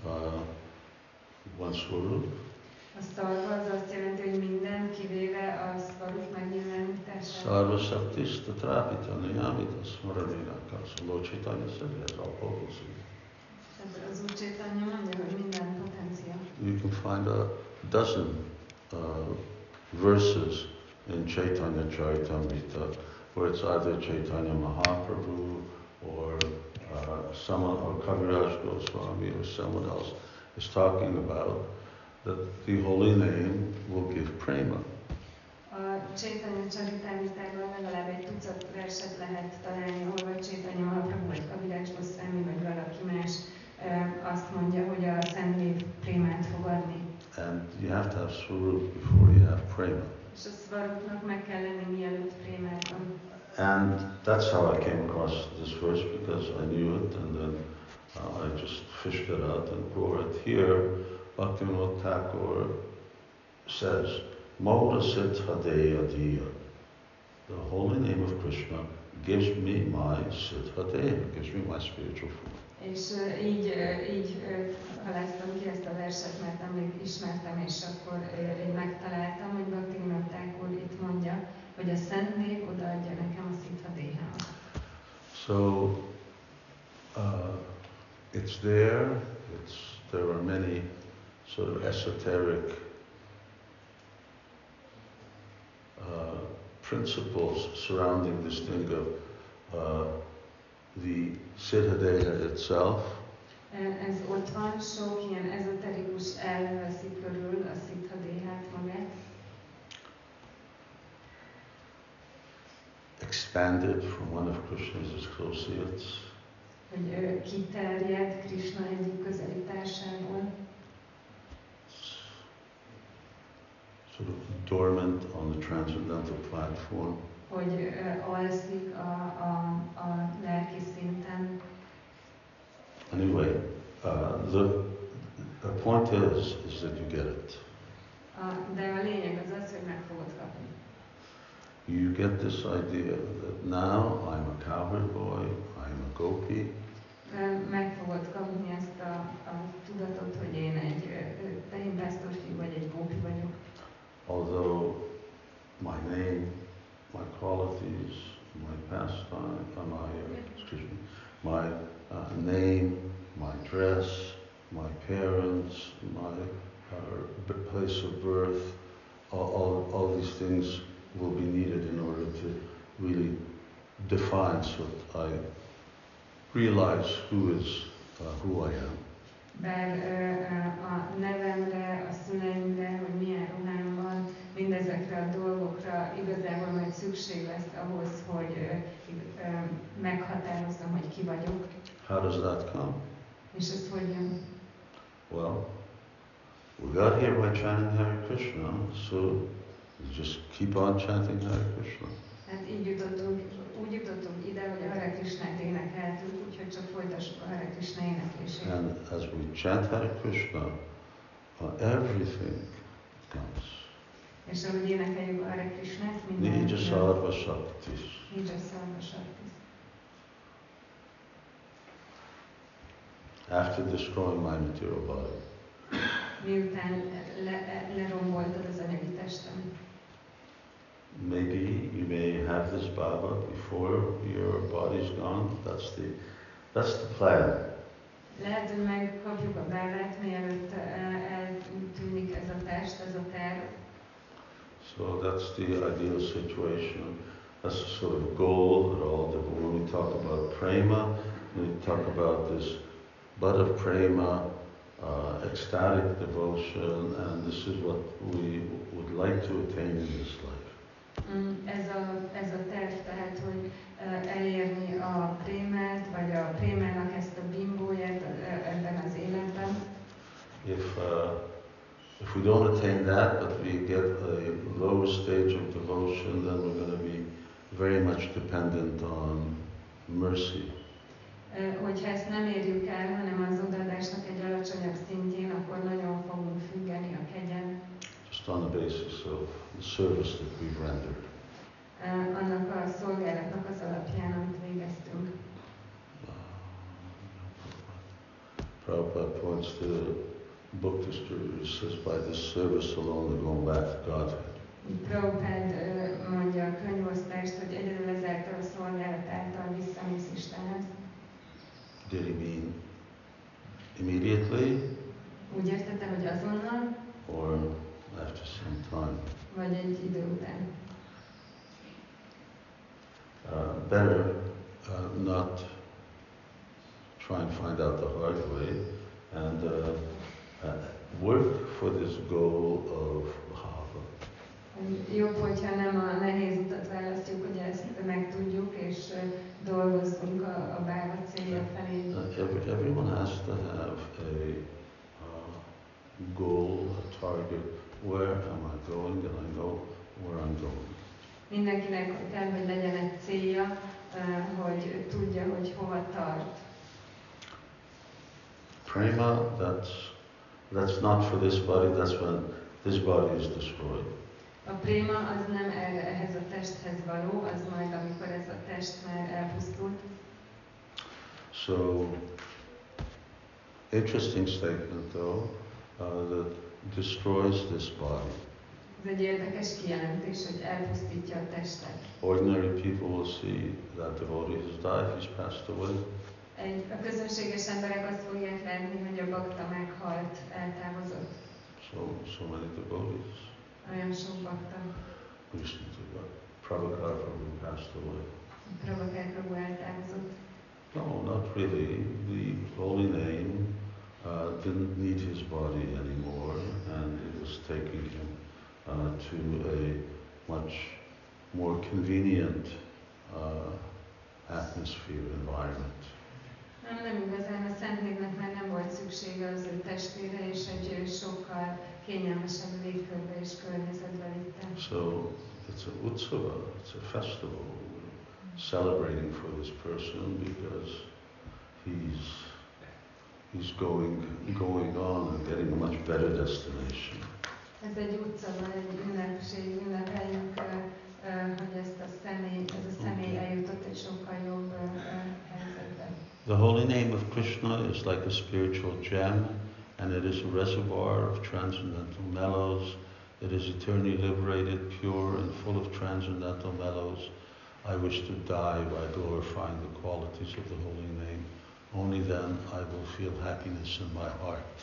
one Swarup. A Szarva az azt jelenti, hogy minden, kivéve a Svarup megnyilvánítását. Sarva Shaktis Tatrapita Niyamita Smaranina. So Lord Chaitanya said that's all potency. Tehát az Úr Chaitanya mondja, hogy minden potencia. You can find a dozen verses in Chaitanya Charitamrita where it's either Chaitanya Mahaprabhu or someone, or Kaviraj Goswami or someone else is talking about that the holy name will give prema. A Chaitanya Charitamritában legalább egy tucat verset lehet találni, ahol vagy Chaitanya Mahaprabhu, vagy Kaviraj Goswami, vagy valaki más azt mondja, hogy a Szentnév prémát fog adni. And you have to have Swarup before you have prema. És a Svarupnak meg kell lenni, mielőtt prémát van. And that's how I came across this verse, because I knew it, and then I just fished it out and brought it here. Bhaktivinoda Thakur says, Moda Siddhadeya Diya. The holy name of Krishna gives me my Siddhadeya, gives me my spiritual food. És így haláztam ki ezt a verset, mert amíg ismertem, és akkor így megtaláltam, hogy Bhaktivinoda Thakur itt mondja, hogy a Szent Név odaadja nekem a Siddhadehámat. So it's there. There are many sort of esoteric principles surrounding this thing of the Siddhadeha itself. Ez ott van, sok ilyen ezoterikus elv veszi körül a Siddhadehát magát. Expanded from one of Krishna's associates. Hogy kiterjed Krishna egyik közeli társából. Sort of dormant on the transcendental platform. Hogy alszik a lelki szinten. Anyway, the point is that you get it. De a lényeg az az, hogy meg fogod kapni. You get this idea that now I'm a cowherd boy, I'm a gopi. Meg fogod kapni ezt a tudatot, hogy én egy tehénpásztorfiú vagy egy gópi vagyok. Although my name, my qualities, my pastime, my name, my dress, my parents, my place of birth, all these things will be needed in order to really define so that I realize who I am. Bár a nevemre, a szüleimre, hogy milyen ruhám van, mindezekre a dolgokra igazából majd szükség lesz ahhoz, hogy meghatározzam, hogy ki vagyok. How does that come? És ez hogy jön? Well, we got here by chanting Hare Krishna, so we just keep on chanting Hare Krishna. Hát úgy jutottunk ide, hogy a Hare Krishnát énekeltük, úgyhogy csak folytassuk a Hare Krishna éneklését. And as we chant Hare Krishna, everything comes. És ahogy énekeljük a Hare Krishnát, minden Nija Sarva Shaktis. Nija Sarva Shaktis. After destroying my material body. Miután leromboltad az anyagi testem. Maybe you may have this Baba before your body's gone. That's the plan. Lehet, hogy megkapjuk a bávát, mielőtt eltűnik ez a test, ez a terv. So that's the ideal situation. That's the sort of goal that all when we talk about prema, we talk about this bud of prema, ecstatic devotion, and this is what we would like to attain in this life. Ez a terv, tehát, hogy elérni a prémát, vagy a prémának ezt a bimbóját ebben az életben. If we don't attain that, but we get a lower stage of devotion, then we're going to be very much dependent on mercy. Hogyha ezt nem érjük el, hanem az odaadásnak egy alacsonyabb szintjén, akkor nagyon fogunk függeni a kegyen. Just just on the basis of the service that we've rendered. Annak a szolgálatnak az alapján, amit végeztünk. Prabhupada points to the book distributor, says, by this service alone they're going back to Godhead. Prabhupád mondja a könyvosztást, hogy egyedül ezáltal a szolgálat által visszamész Istenhez. Did he mean immediately Úgy értette, hogy azonnal, or after some time? vagy egy idő után. Better not try and find out the hard way and work for this goal of bhava. Jobb, hogyha nem a nehéz utat választjuk, hogy ezt megtudjuk, és dolgozzunk a báva célja felé. Everyone has to have a goal, a target. Where am I going? And I know where I'm going. Mindenkinek kell, hogy legyen egy célja, hogy tudja, hogy hova tart. Prema, that's not for this body, that's when this body is destroyed. A préma az nem ehhez a testhez való, az majd, amikor ez a test már elpusztult. So, interesting statement though, that destroys this body. Ez egy érdekes kijelentés, hogy elpusztítja a testet. Ordinary people will see that devotee has died, he's passed away. A közönséges emberek azt fogják látni, hogy a bakta meghalt, eltávozott. So many devotees. Olyan sok bakta. Prabhupada Prabhu passed away. Prabhupada Prabhu eltávozott. No, not really. The holy name didn't need his body anymore, and it was taking him to a much more convenient atmosphere, environment. Nem igazán, a Szentnévnek már nem volt szüksége az ő testére, és egy sokkal kényelmesebb légkörbe és környezetbe vitte. So it's a utsava, it's a festival. We're celebrating for this person because he's going on and getting a much better destination. Ez egy utcava, egy ünnepség, ünnepeljük, hogy ez a személy eljutott egy sokkal jobb helyzetbe. The holy name of Krishna is like a spiritual gem, and it is a reservoir of transcendental mellows. It is eternally liberated, pure, and full of transcendental mellows. I wish to die by glorifying the qualities of the holy name. Only then I will feel happiness in my heart.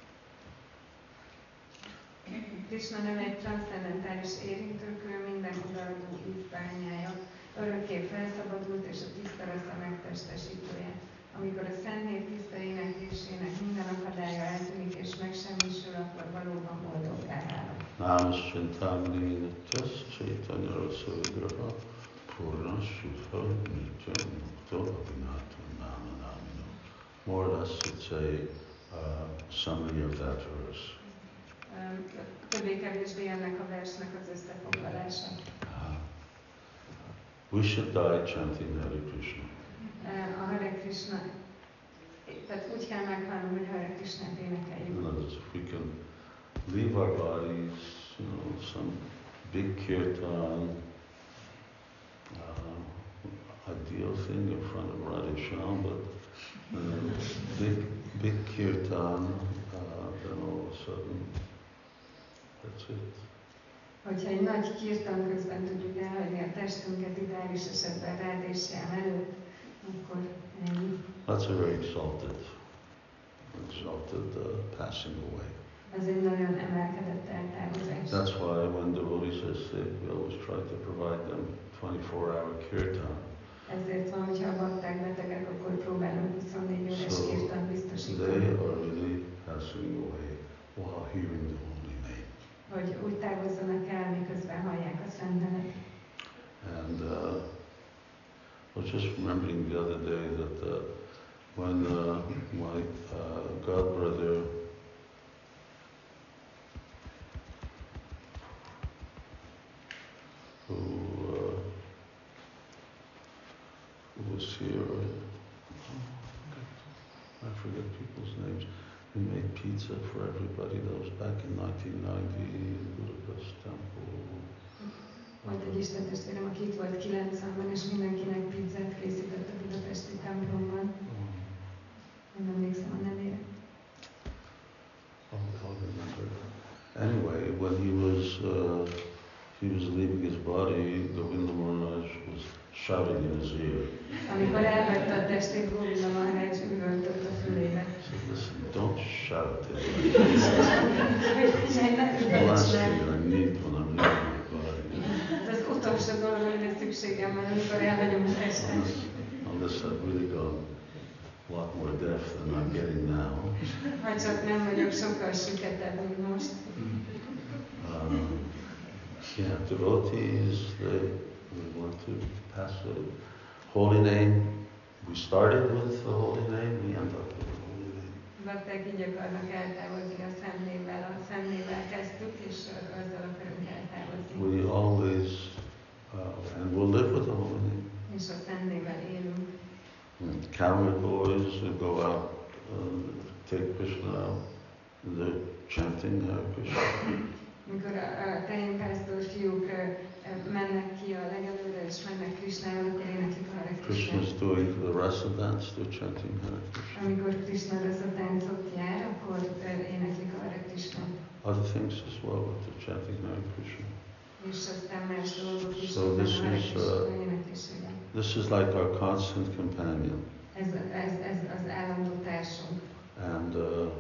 Krishna neve egy transzcendentális érintőkő, minden odaadó ízbányája, örökké felszabadult és a tiszta rasa megtestesítője. Amikor a Szent Név tiszta éneklésének minden akadálya eltűnik és megsemmisül, akkor valóban boldoggá válok. Namas Chintamani Nityas Chaitanya Rasa Vigraha Purna Shudha Nitya Mukta Abhinata Nama Namino. More or less it's a summary of that verse. Többé-kevésbé ennek a versnek az összefoglalása. We should die chanting Hare Krishna. A Hare Krishna, tehát úgy kell meghalnunk, hogy Hare Krishnát énekeljük. In other words, if we can leave our bodies, some big kirtan, ideal thing in front of Radhesham, but big kirtan, then all of a sudden, that's it. Hogyha egy nagy kirtan közben tudjuk elhagyni a testünket, ideális esetben Radhesham előtt, akkor ennyi. That's a very exalted passing away. Ez egy nagyon emelkedett eltávozás. That's why when devotees are sick, we always try to provide them 24-hour kirtan. Ezért van, hogyha a bakták betegek, akkor próbálunk 24 órás kirtant biztosítani. They are really passing away while hearing the holy name. Hogy úgy távozzanak el, miközben hallják a szent nevet. And I was just remembering the other day that when my godbrother who was here, I forget people's names. We made pizza for everybody. That was back in 1990 in Budapest Temple. Volt egy istentestvérem, aki itt volt 90-ben, és mindenkinek pizzát készített a budapesti templomban. Nem emlékszem a nevére. I'll remember. Anyway, when he was leaving his body, Govinda Maharaj was shouting in his ear. Amikor elvette a testét, Govinda Maharaj üvöltött a fülébe. He said, listen, don't shout at me. The last thing I need when I'm leaving my body. Ez az utolsó dolog, amire szükségem van, amikor elhagyom a testet. Unless I've really gone a lot more deaf than I'm getting now. Ha csak nem vagyok sokkal süketebb, mint most. Yeah, devotees, we want to pass the holy name. We started with the holy name, we end up with the holy name. Bakták így akarnak eltávozni a szemnével kezdtük, és azzal akarunk eltávozni. We always, and we'll live with the holy name. És a szemnével élünk. Cowboy boys who go out, take Krishna out, they're chanting Hare Krishna. Mikor a tehénpásztor fiúk mennek ki a legelőre és mennek Krishnával, akkor éneklik a Hare Krishna Krishnát. is doing the rasa dance, they're chanting Hare Krishna. Amikor Krishna rasa táncot jár, akkor éneklik a Hare Krishnát. Other things as well, but they're chanting Hare Krishna. És aztán más dolgok is So vannak this a Hare is, Krishna éneklésében. This is like our constant companion. Ez az állandó társunk. And,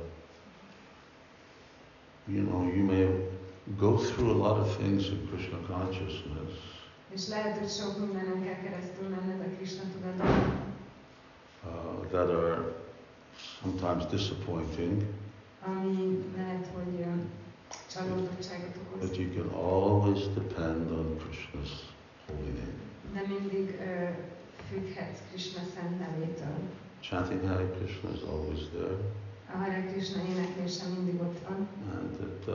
you may go through a lot of things in Krishna consciousness. És lehet, hogy sok mindenen kell keresztül menned a Krishna tudatban. That are sometimes disappointing. Ami lehet, hogy csalódottságot okoz. But you can always depend on Krishna's holy name. De mindig függhetsz Krishna szent nevétől. Chanting Hare Krishna is always there. A Hare Krishna éneklése mindig ott van. And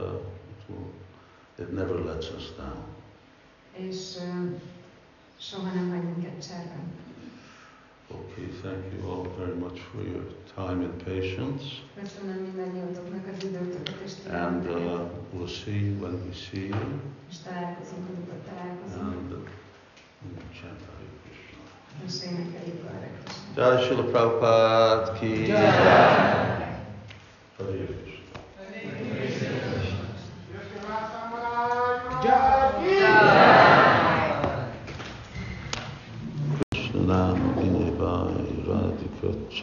it never lets us down. És soha nem hagy minket cserben. Okay, thank you all very much for your time and patience. Köszönöm mindannyiatoknak az időtöket és And türelmeteket. we'll see you when we see you. És találkozunk, amikor találkozunk. And we'll chant Hare Krishna. És énekeljük a Hare Krishnát. Jai Srila Prabhupada ki. Jai.